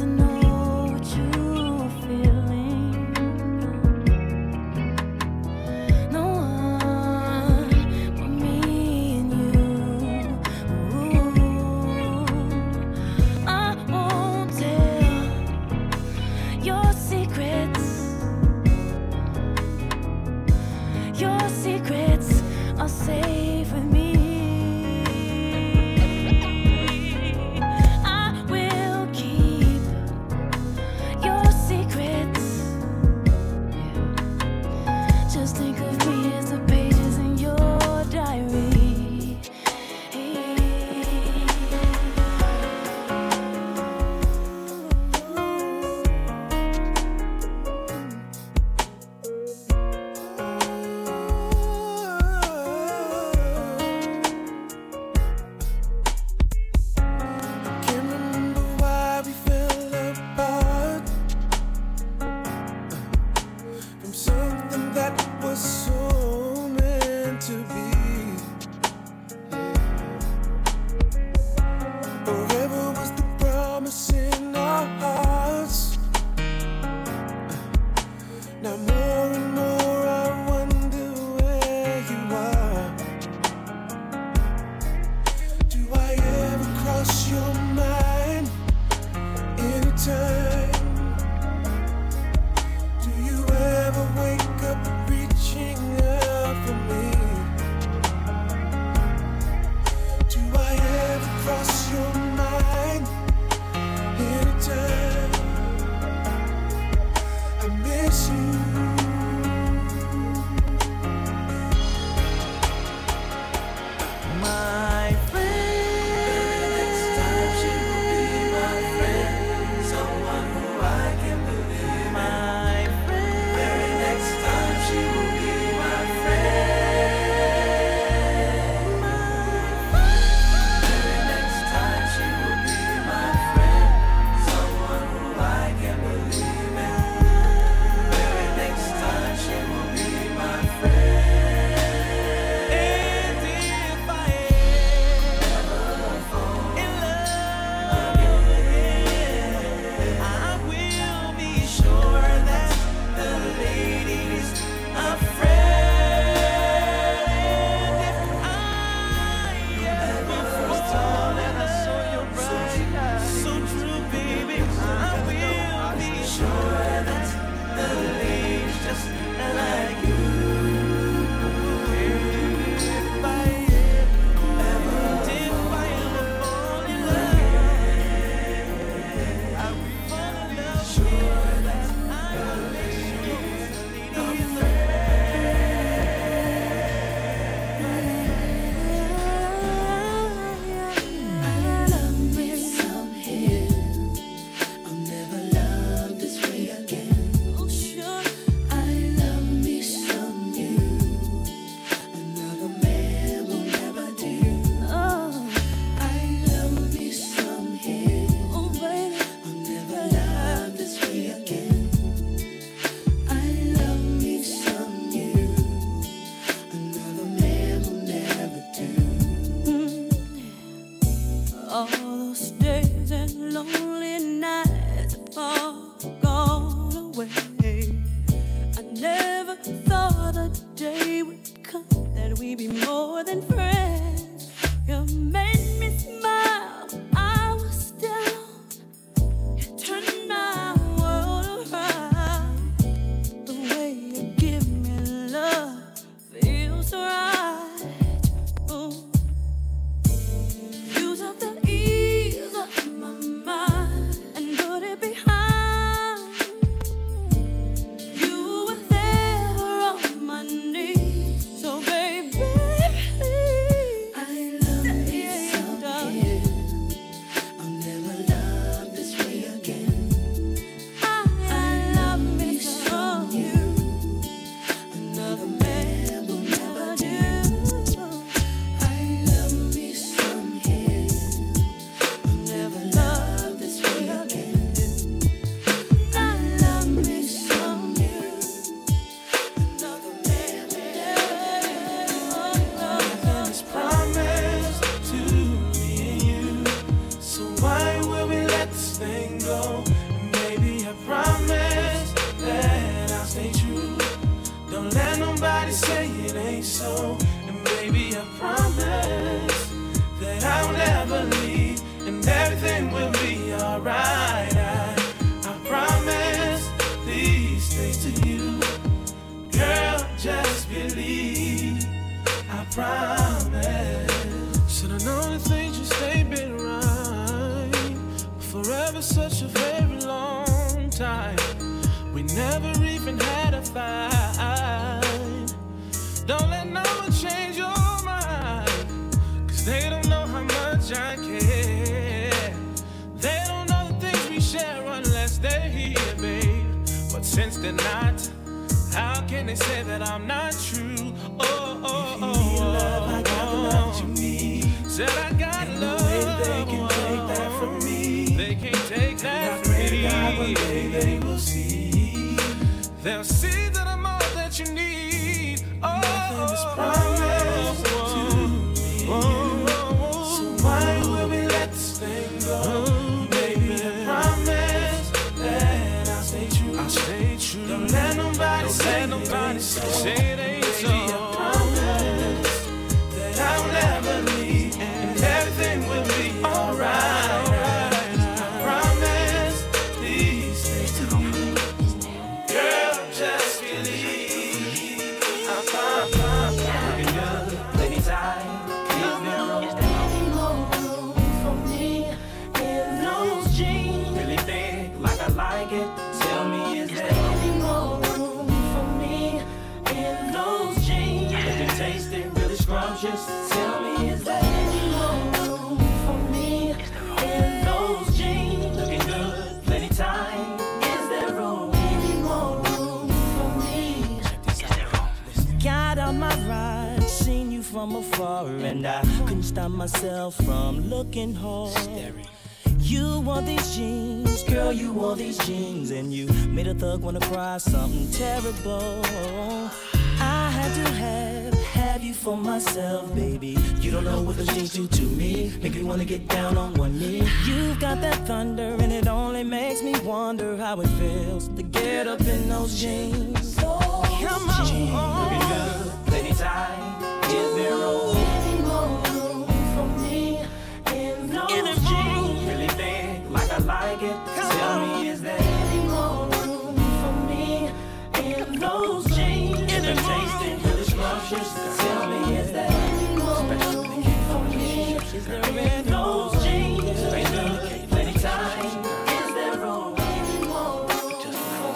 that we be more than friends. You made me smile, I was down. You turned my world around. The way you give me love feels right. Ooh. You took the ease off my mind and put it behind. You were there on my knees, so baby, I love you so dear. I'll never love this way again. I love me from you. Another man will never do. I love me some here. I'll never love this way again. I love me some you. Another man will Nothing's promised to me and you, so why will we let this thing go? And baby, I promise that I'll stay true. Don't let nobody say it ain't so. And baby, I promise that I'll never leave, and everything will be alright. I promise these things to you, girl. Just believe. I promise. Said I know the things you say been right forever, such a very long time. We never even had a fight. Don't let no one change your mind, 'cause they don't know how much I care. They don't know the things we share unless they're here, babe. But since they're not, how can they say that I'm not true? Oh, oh, oh, love, I got the love you need. Said I got and love. No way they can take that from me. They can't take that from me. God, one day they will see. They'll see that I'm all that you need. Oh, nothing is promised to me. So why will we let this thing go? Baby, I promise that I'll stay true. I'll stay true. Don't let nobody say it ain't so. Baby, I promise that I'll never leave, and everything will be alright. I promise these things to you, girl. Just believe. I promise. Looking good, plenty time. Is there any more room for me in those jeans? Really thick, like I like it. Tell me, is there any more room for me in those jeans? Looking tasty, really scrumptious. Tell me, is there any more room for me in those jeans? Looking good, plenty time. Is there any more room for me? Got on my ride, seen you from afar, and I couldn't stop myself from looking hard. You wore these jeans, girl, you wore these jeans, and you made a thug wanna cry something terrible. I had to have you for myself, baby. You don't know what those jeans do to me. Make me wanna get down on one knee. You've got that thunder, and it only makes me wonder how it feels to get up in those jeans. Come on, looking good, plenty time. Is there any more room for me in those jeans? Really thick, like I like it. Tell me, is there any more room for me in those jeans? Really tasty, really scrumptious. Tell me, is there any more room for me in those jeans? Really good, plenty time. Is there any more room for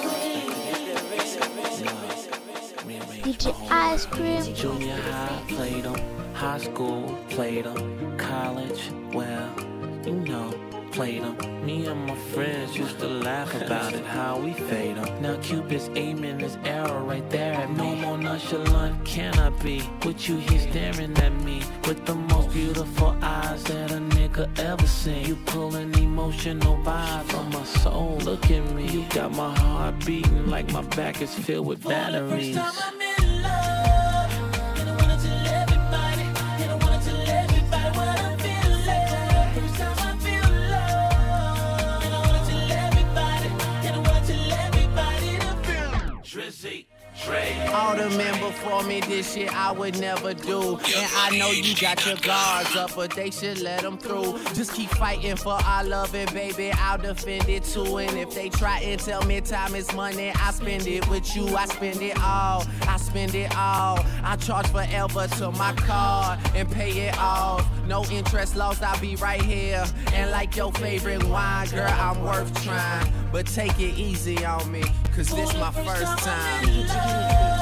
me? DJ Ice Cream. Junior high, played them. High school, played them. College, well, you know, played them. Me and my friends used to laugh about it, how we fade them. Now Cupid's aiming his arrow right there at me. No more nonchalant can I be, with you here staring at me, with the most beautiful eyes that a nigga ever seen. You pulling emotional vibes from my soul. Look at me, you got my heart beating like my back is filled with batteries. All the men before told me this shit I would never do. And I know you got your guards up, but they should let them through. Just keep fighting for our love, and baby, I'll defend it too. And if they try and tell me time is money, I spend it with you. I spend it all, I spend it all. I charge forever to my card and pay it off. No interest lost, I'll be right here. And like your favorite wine, girl, I'm worth trying. But take it easy on me, cause this my first time.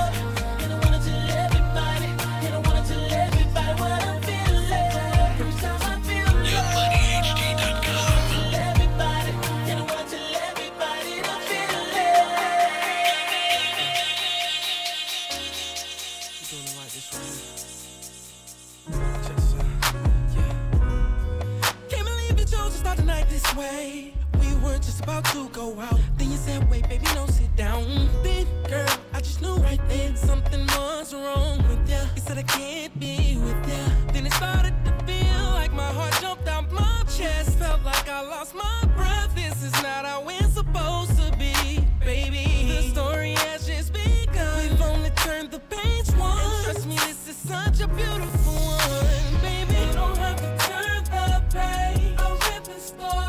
Way. We were just about to go out. Then you said, wait, baby, no, sit down. Big girl, I just knew right then something was wrong with ya. You said I can't be with ya. Then it started to feel like my heart jumped out my chest. Felt like I lost my breath. This is not how we're supposed to be, baby. The story has just begun. We've only turned the page one. And trust me, this is such a beautiful one, baby. You don't have to turn the page. I'll rip the story.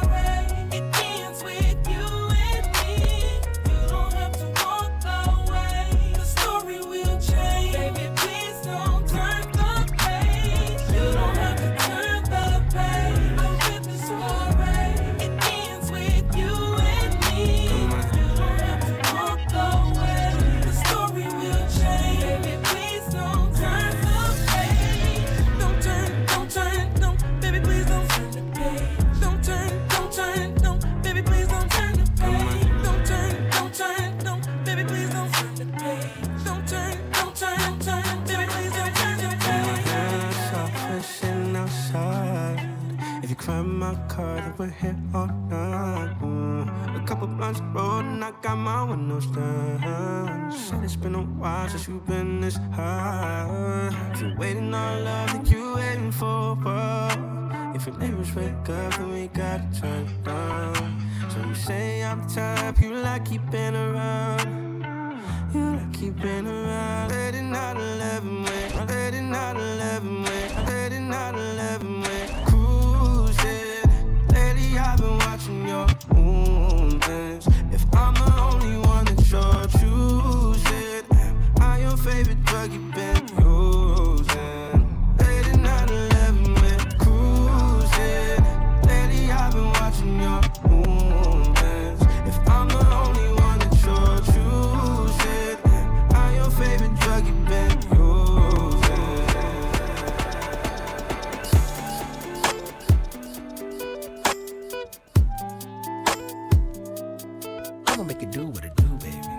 We're here all night. A couple blunts rolled and I got my windows down. Said it's been a while since you've been this high. If you're waiting on love, then you waiting for what? If your neighbors wake up, then we gotta turn it down. So you say I'm the type you like keeping around. You like keeping around. Late at night, 11 way. Late at night, 11 way. Late at night, 11 way. I've been watching your movements. If I'm the only one that you're choosing, am I your favorite drug you've been using? Late at night, 11 with cruising. Lately I've been watching your movements. If I'm the only one that you're choosing, am I your favorite drug you've been using? Make it do what it do, baby.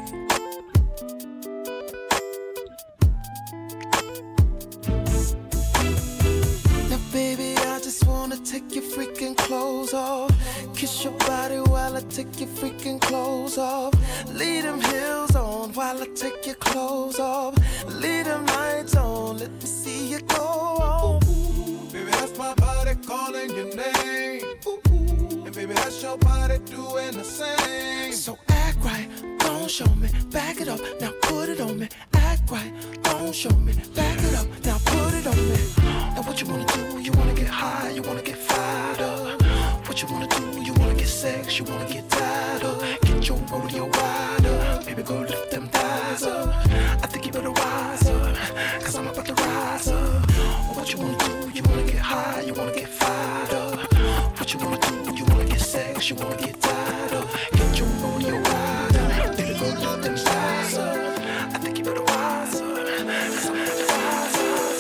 Now, baby, I just wanna take your freaking clothes off. Kiss your body while I take your freaking clothes off. Leave them heels on while I take your clothes off. Leave them lights on, let me see you go on. Baby, that's my body calling your name. And baby, that's your body doing the same. So act right, don't show me, back it up, now put it on me. Act right, don't show me, back it up, now put it on me. Now what you wanna do? You wanna get high, you wanna get fired up. What you wanna do? You wanna get sex, you wanna get tied up. Get your rodeo wide up, baby, go lift them thighs up. I think you better rise up, cause I'm about to rise up. What you wanna do? You wanna get high, you wanna get fired up. What you wanna do? You wanna get sex, you wanna get tied up. Get your rodeo wide up, baby, go lift them thighs up. I think you better rise up, cause I'm about to rise up.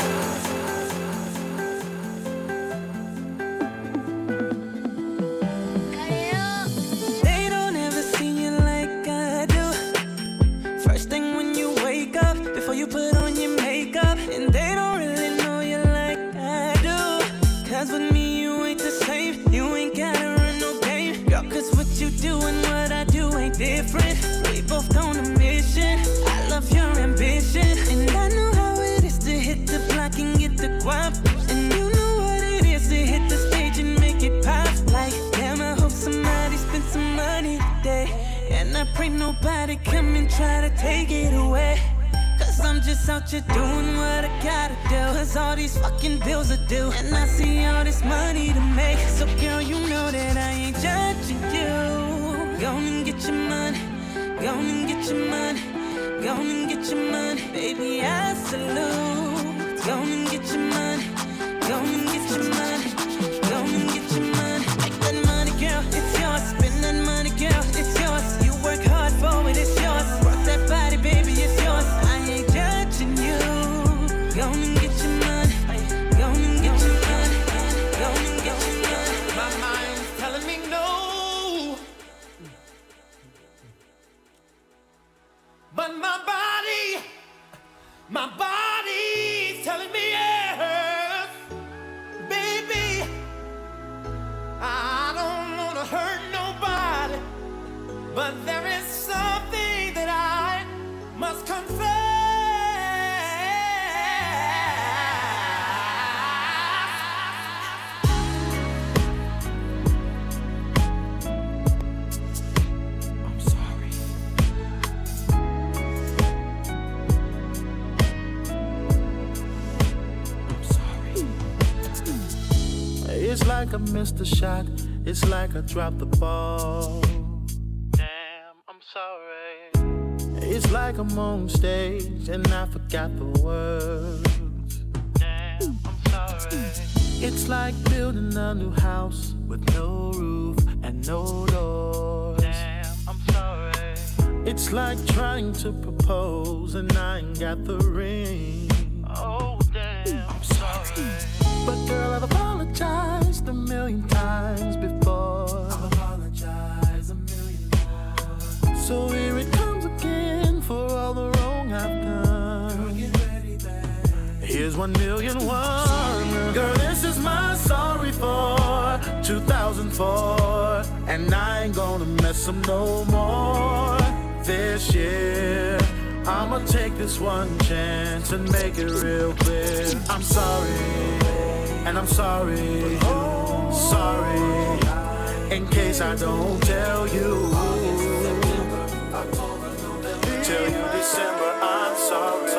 They don't ever see you like I do. First thing when you wake up, before you put on your makeup. And they don't really know you like I do. Cause with me you ain't the same. You ain't gotta run no game, girl, cause what you do and what I do ain't different. We both on a mission, I love your ambition. And I know how it is to hit the block and get the guap. And you know what it is to hit the stage and make it pop. Like, damn, I hope somebody spent some money today. And I pray nobody come and try to take it away. Cause I'm just out here doing what I gotta do. Cause all these fucking bills are due. And I see all this money to make. So girl, you know that I ain't judging you. Go and get your money. Go and get your money. Go and get your money. Baby, I salute. Go and get your money. Go and get your money. Go and get your money. Make that money, girl, it's yours. Spend that money, girl, it's yours. You work hard for it, it's yours. Rock that body, baby, it's yours. I ain't judging you. Go and get your money. Go and get your money. Go and get your money. My mind's telling me no, but my body's telling me yes. Baby, I don't wanna hurt nobody, but there is something that I must confess. I'm sorry. I'm sorry. It's like I missed a shot. It's like I dropped the ball. Damn, I'm sorry. It's like I'm on stage and I forgot the words. Damn, I'm sorry. It's like building a new house with no roof and no doors. Damn, I'm sorry. It's like trying to propose and I ain't got the ring. Oh, damn, I'm sorry. But girl, I've apologized a million times before. I've apologized a million times. So here it comes again for all the wrong I've done. Girl, get ready, babe. Here's 1,000,001. Girl, this is my sorry for 2004. And I ain't gonna mess up no more this year. I'ma take this one chance and make it real clear. I'm sorry, and I'm sorry, sorry, in case I don't tell you. Tell you December, I'm sorry.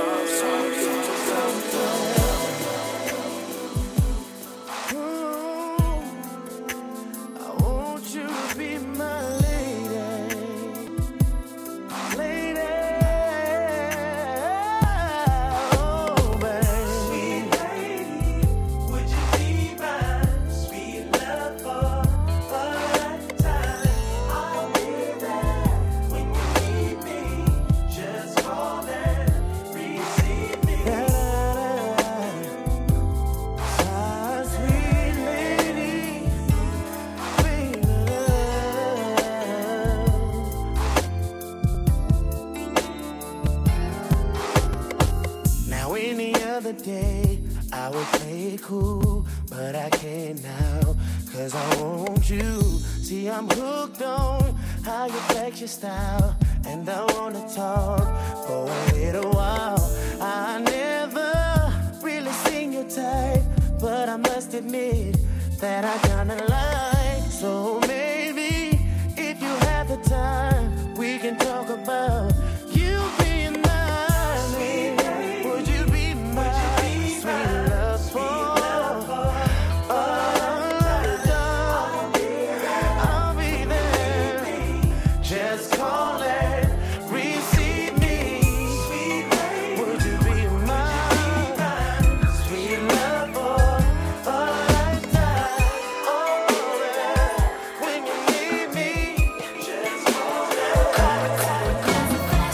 I want you to be my lady. Lady. Oh, baby. Sweet lady, would you be my sweet love for a lifetime? I'll be there when you need me. Just call and receive me. Ah, sweet lady, sweet love. Now any other day I would play it cool, but I can't now, cause I want you. See, I'm hooked on how you flex your style, and I wanna talk for a little while. I never really seen your type, but I must admit that I kinda like. So maybe if you have the time, we can talk about you being mine. Would you be my sweet love for a lifetime? I'll be there. Just call and receive me. Would you be my sweet love for a lifetime? Oh, yeah. When you need me, just call and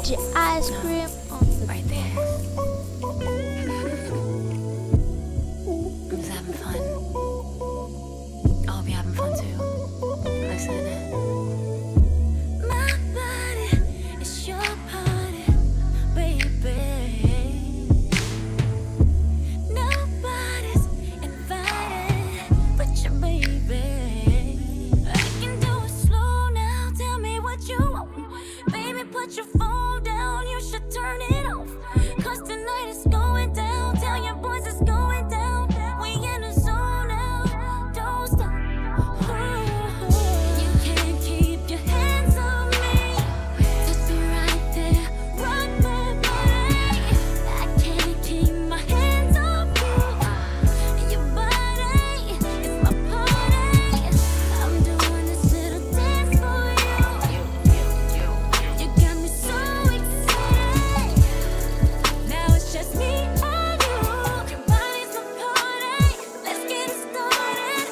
DJ Ice Cream on the right there. I'm just having fun. I hope you're having fun too. Listen. My body is your party, baby. Nobody's invited but your baby. I can do it slow now. Tell me what you want. Baby, put your phone down. You should turn it off. 'Cause tonight it's going down. Tell your boys it's going down. We in the zone now. Don't stop. You can't keep your hands on me. Just be right there. Rock my body. I can't keep my hands off you. Your body is my party. I'm doing this little dance for you. You got me so excited. Now it's just me and you. Your body's my party. Let's get it started.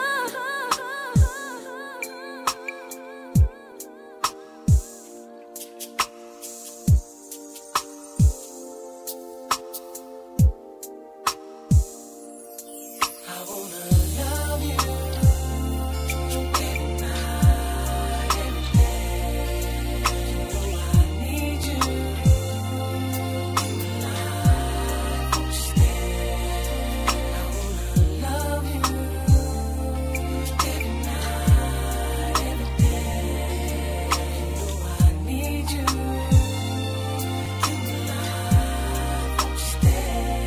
I wanna love you every night, every day. You know I need you in my life. Won't you stay? I wanna love you every night, every day. You know I need you in my life. Won't you stay?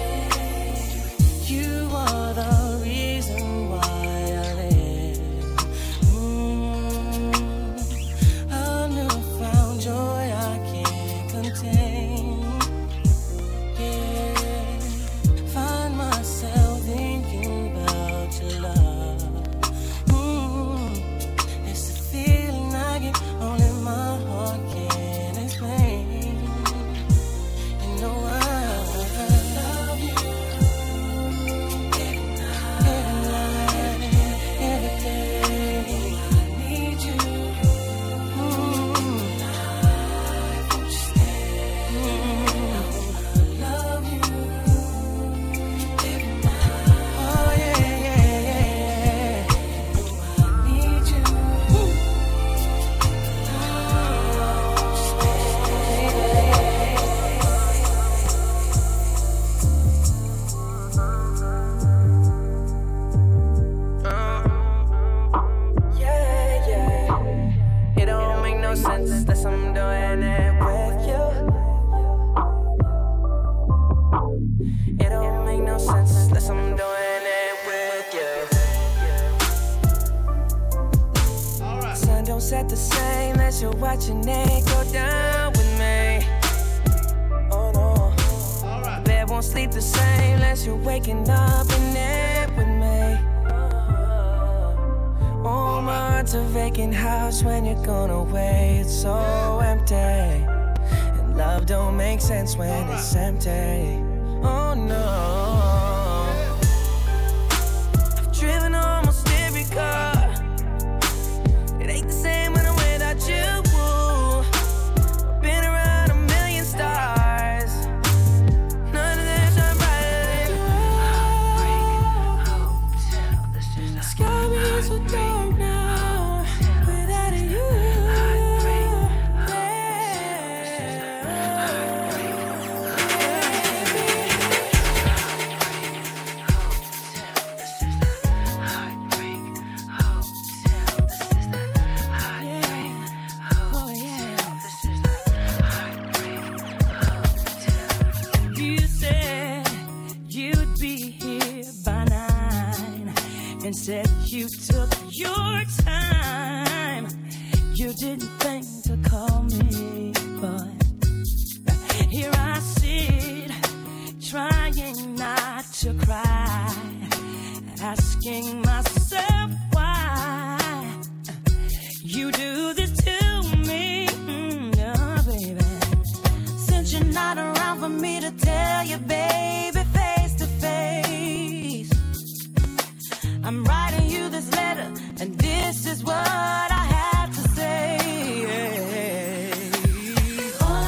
You are the reason why I live. A newfound joy I can't contain. Yeah, find myself thinking about your love. It's a feeling I get only my heart can explain. You know I love you. Every night, every day, I need you. Life, won't you stay? I wanna love you every night. Oh yeah, yeah, yeah. I need you. Yeah, yeah. It don't make no sense unless I'm doing it with you. It don't make no sense unless I'm doing it with you. Sun don't set the same unless you're watching it go down with me. Oh no. The bed won't sleep the same unless you're waking up in it with me. Oh, my heart's a vacant house when you're gone away. It's so empty. And love don't make sense when it's empty. Oh no. I've driven almost every car. It ain't the same when I'm without you. I've been around a million stars. None of them shine brighter than you. The sky is so dark now without you. You said you'd be here by 9 and said you took your time. You didn't think to call me, but here I sit trying not to cry, asking myself why you do this to me, oh, baby. Since you're not around for me to tell you, baby, face to face, I'm writing you this letter, and this is what I have to say. All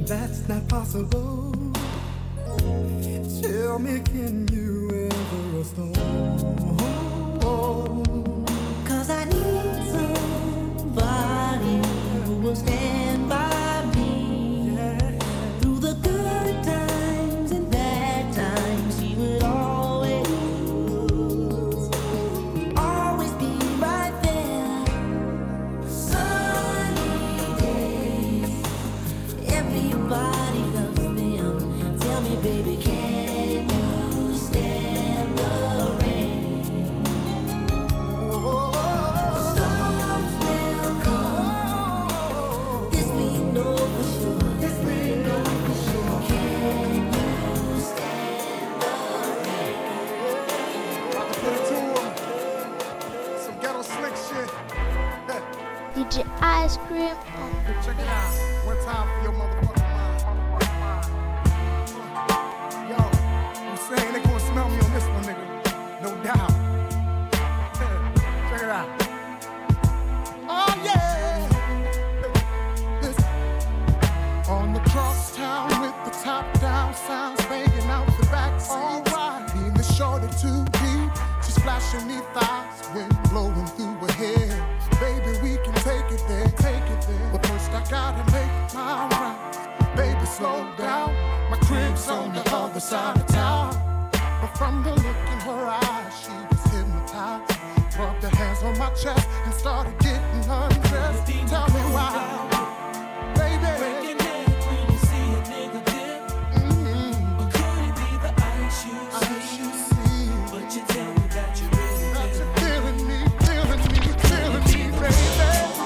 That's not possible. Tell me, can you ever restore? 'Cause I need somebody who will stand by me through the good times and bad times. He would always be right there. Sunny days, everybody loves them. Tell me, baby, can you stand the rain? Storms will come. This we know for sure. This we know for sure. Can you stand the rain? About to put it to 'em. Some ghetto slick shit. DJ Ice Cream. Check it out. One time for your motherfucking mind. Yo, I'm saying they gonna smell me on this one, nigga. No doubt. Check it out. Oh yeah. Listen. On the crosstown with the top down, sounds banging out the backseat. Alright, being the shorty too deep. She's flashing me thighs, wind blowing through her hair. Baby, we can take it there, take it there. But first I gotta make my rounds. Baby, slow down. My crib's on the other side of town. But from the look in her eyes, she was hypnotized. Rubbed her hands on my chest and started getting undressed. Tell me why, baby. Breaking neck when you see a nigga dip. Or could it be the ice you see? But you tell me that you really that you're feeling me, baby.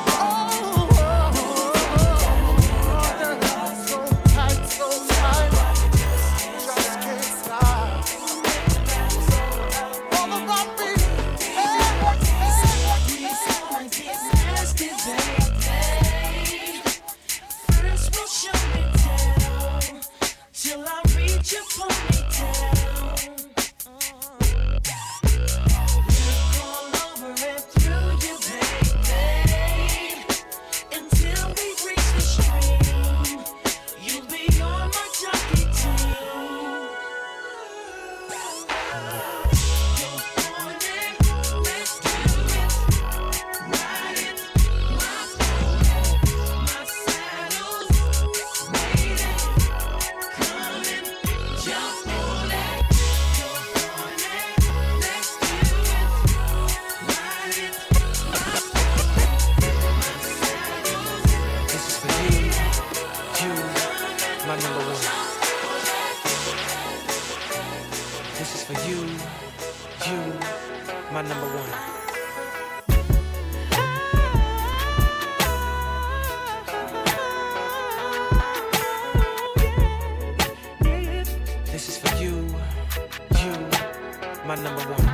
So tight, so tight. Just can't stop. All about me. First we'll show me down till I reach your ponytail. Look all over and through you, baby, until we reach the stream. You'll be on my jockey team. Let's do it. Ride it, my saddle's waiting, coming, jump on it. Let's do it. Ride it, This is for you, my number one. This is for you, my number one. This is for you, my number one.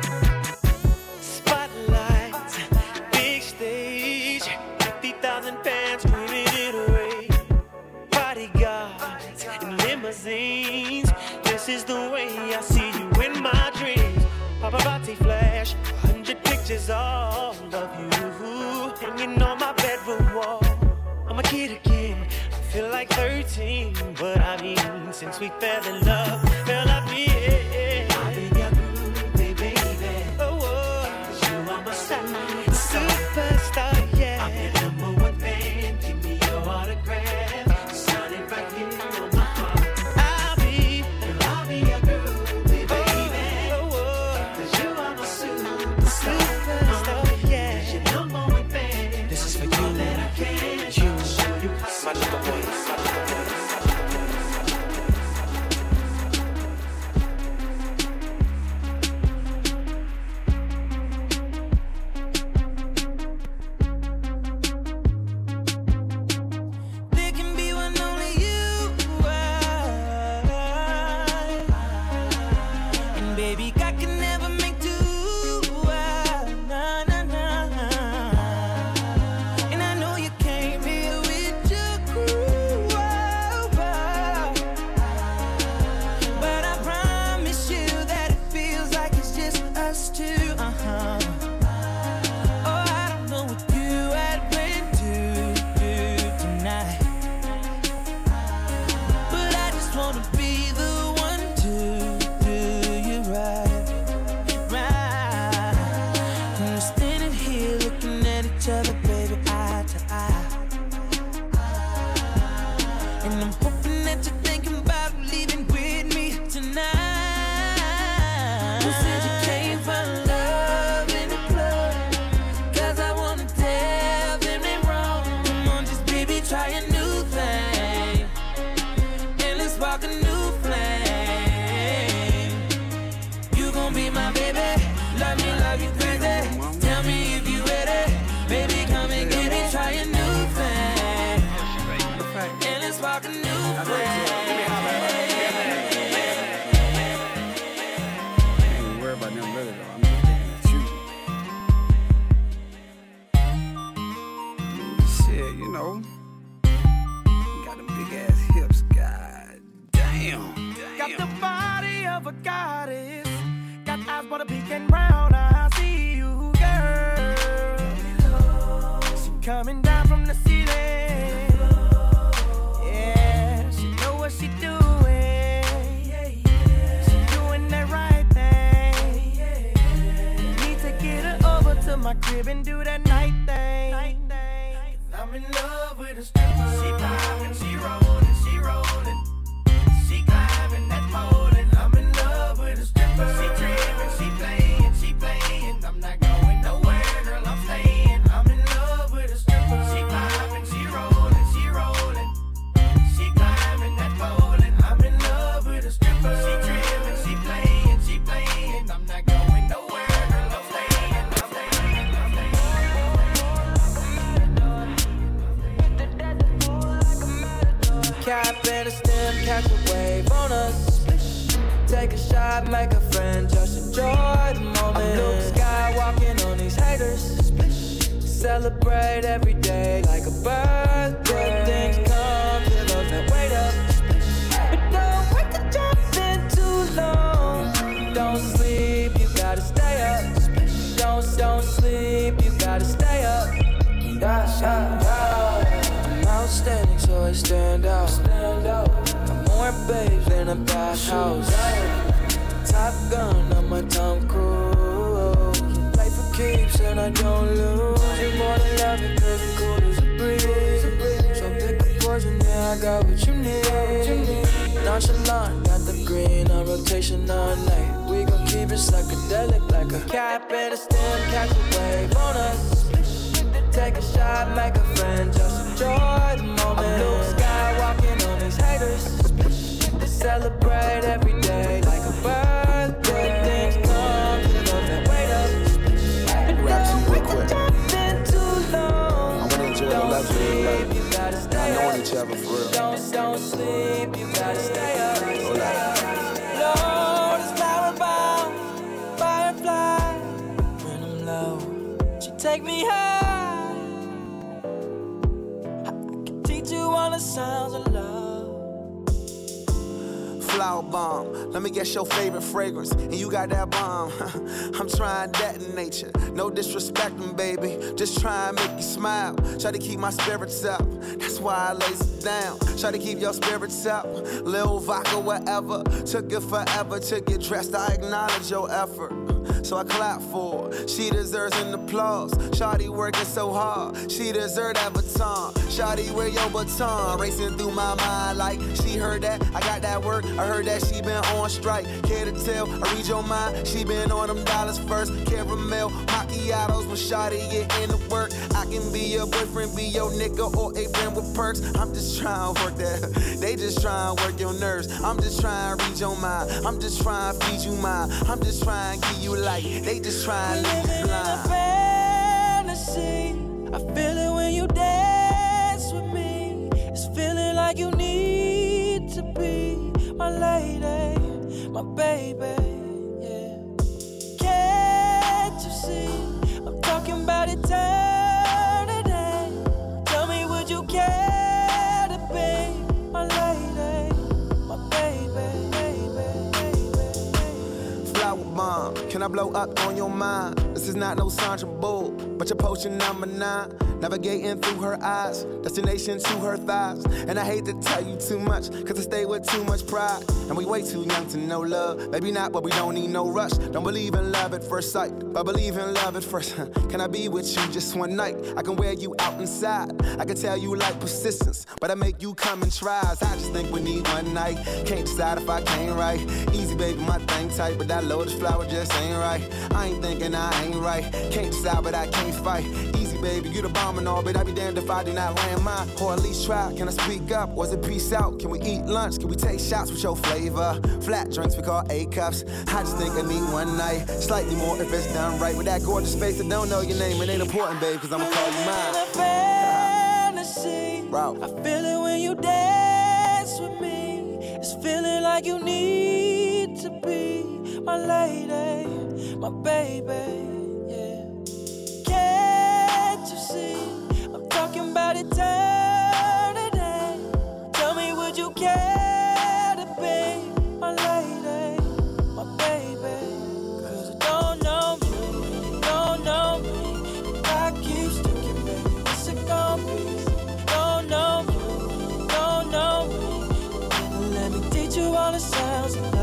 Spotlight, big stage, 50,000 fans screaming it away. Bodyguards and limousines. This is the way I see you in my dreams. Paparazzi flash, 100 pictures all of you hanging on my bedroom wall. I'm a kid again, I feel like 13, but I mean, since we fell in love, fell off me. I've been your groovy baby. Oh, you are my superstar, yeah. I'm your number one fan. Give me your autograph. Sign it right here on my heart. I'll be your groovy baby. Oh, 'cause you are my superstar, yeah. Your number one fan. This is for you. That I can show you my number one. There can be one only you are. And baby, I can never make two. Nah, nah, nah. And I know you came here with your crew. And I'm hoping that you're thinking about leaving with me tonight. You said you came for love in the club, 'cause I wanna tell them they wrong. Come on, just baby, try a new thing, and let's spark a new flame. You gon' be my baby, love you crazy. Tell me if you ready, baby, come and get it. Try a new thing, and let's spark a new flame. Ain't worried about them really though. I'm just thinking of you. Shit, you know. You got them big ass hips, god damn. Got the body of a goddess, got eyes but a peeking round. I see you, girl. She coming down from the ceiling. Yeah, she know what she doing. She doing that right thing. Need to get her over to my crib and do that night thing. 'Cause I'm in love with a stripper. She poppin', she rollin', she rollin'. She climbing that pole and I'm in love with a stripper. She trippin', she playin', I'm not going nowhere, girl, I'm stayin'. I'm in love with a stripper. She poppin', she rollin', she rollin'. She climbing that pole and I'm in love with a stripper. She trippin', she playin', I'm not going nowhere, girl, I'm stayin', I'm stayin', I'm stayin'. Cap and a stem, catch a wave on us. Take a shot, make a friend, just enjoy the moment. Luke Skywalking on these haters. Celebrate every day like a birthday. Things come to those that wait up. But don't wait to jump in too long. Don't sleep, you gotta stay up. Don't sleep, you gotta stay up. I'm outstanding, so I stand out. Got more babes in a bathhouse. Top Gun, I'm a Tom Cruise. Play for keeps and I don't lose. You more than love it, 'cause you're cool as a breeze. So pick a poison, yeah, I got what you need. Nonchalant, got the green on rotation all night. We gon' keep it psychedelic like a cap and a stem, catch a wave on us. Take a shot, make a friend, just enjoy the moment. Blue sky walking on these haters. Celebrate every day like a birthday. Things come to those that wait up. Rap to you real quick. Too long. I wanna enjoy the love of your life. You gotta stay I up. know each other for real. Don't sleep, you gotta stay up. Lord is flower bound, firefly. When I'm low, she take me high. I can teach you all the sounds of love. Flower bomb, let me guess your favorite fragrance, and you got that bomb. I'm trying to detonate you, no disrespecting, baby. Just try and make you smile. Try to keep my spirits up, that's why I lays it down. Try to keep your spirits up, Lil Vodka, whatever. Took it forever to get dressed, I acknowledge your effort. So I clap for her. She deserves an applause. Shawty working so hard, she deserve that baton. Shawty, wear your baton, racing through my mind like she heard that. I got that work, I heard that she been on strike. Care to tell, I read your mind. She been on them dollars first. Caramel macchiatos when Shawty get into work. I can be your boyfriend, be your nigga, or a friend with perks. I'm just trying to work that. They just trying to work your nerves. I'm just trying to read your mind. I'm just trying to feed you mine. I'm just trying to give you light. They just trying to leave you blind. Fantasy, I feel it when you dance with me. It's feeling like you need to be my lady, my baby, yeah. Can't you see? I'm talking about eternity. Tell me, would you care to be my lady, my baby, Flower bomb, can I blow up on your mind? This is not no Sandra Bull, but your potion number 9. navigating through her eyes, destination to her thighs. And I hate to tell you too much, cause I stay with too much pride. And we way too young to know love. Maybe not, but we don't need no rush. Don't believe in love at first sight, but believe in love at first. Can I be with you just one night? I can wear you out inside. I can tell you like persistence, but I make you come and try. I just think we need one night. Can't decide if I can't right. Easy baby, my thing tight, but that lotus flower just ain't right. I ain't thinking I ain't right. Can't decide, but I can't fight. Easy baby, you the bomb and all, but I be damned if I do not land mine. Or at least try. Can I speak up? Was it peace out? Can we eat lunch? Can we take shots with your flavor? Flat drinks we call A-cups. I just think I need one night. Slightly more if it's done right. With that gorgeous face that don't know your name, it ain't important, babe, cause I'ma call you mine. Fantasy. Bro. I feel it when you dance with me. It's feeling like you need to be my lady, my baby, yeah. Can't you see? I'm talking about eternity. Tell me, would you care to be my lady, my baby? Cause I don't know me, you don't know me. If I keep sticking, baby, what's it gonna be? Don't know me, don't know me. Let me teach you all the sounds.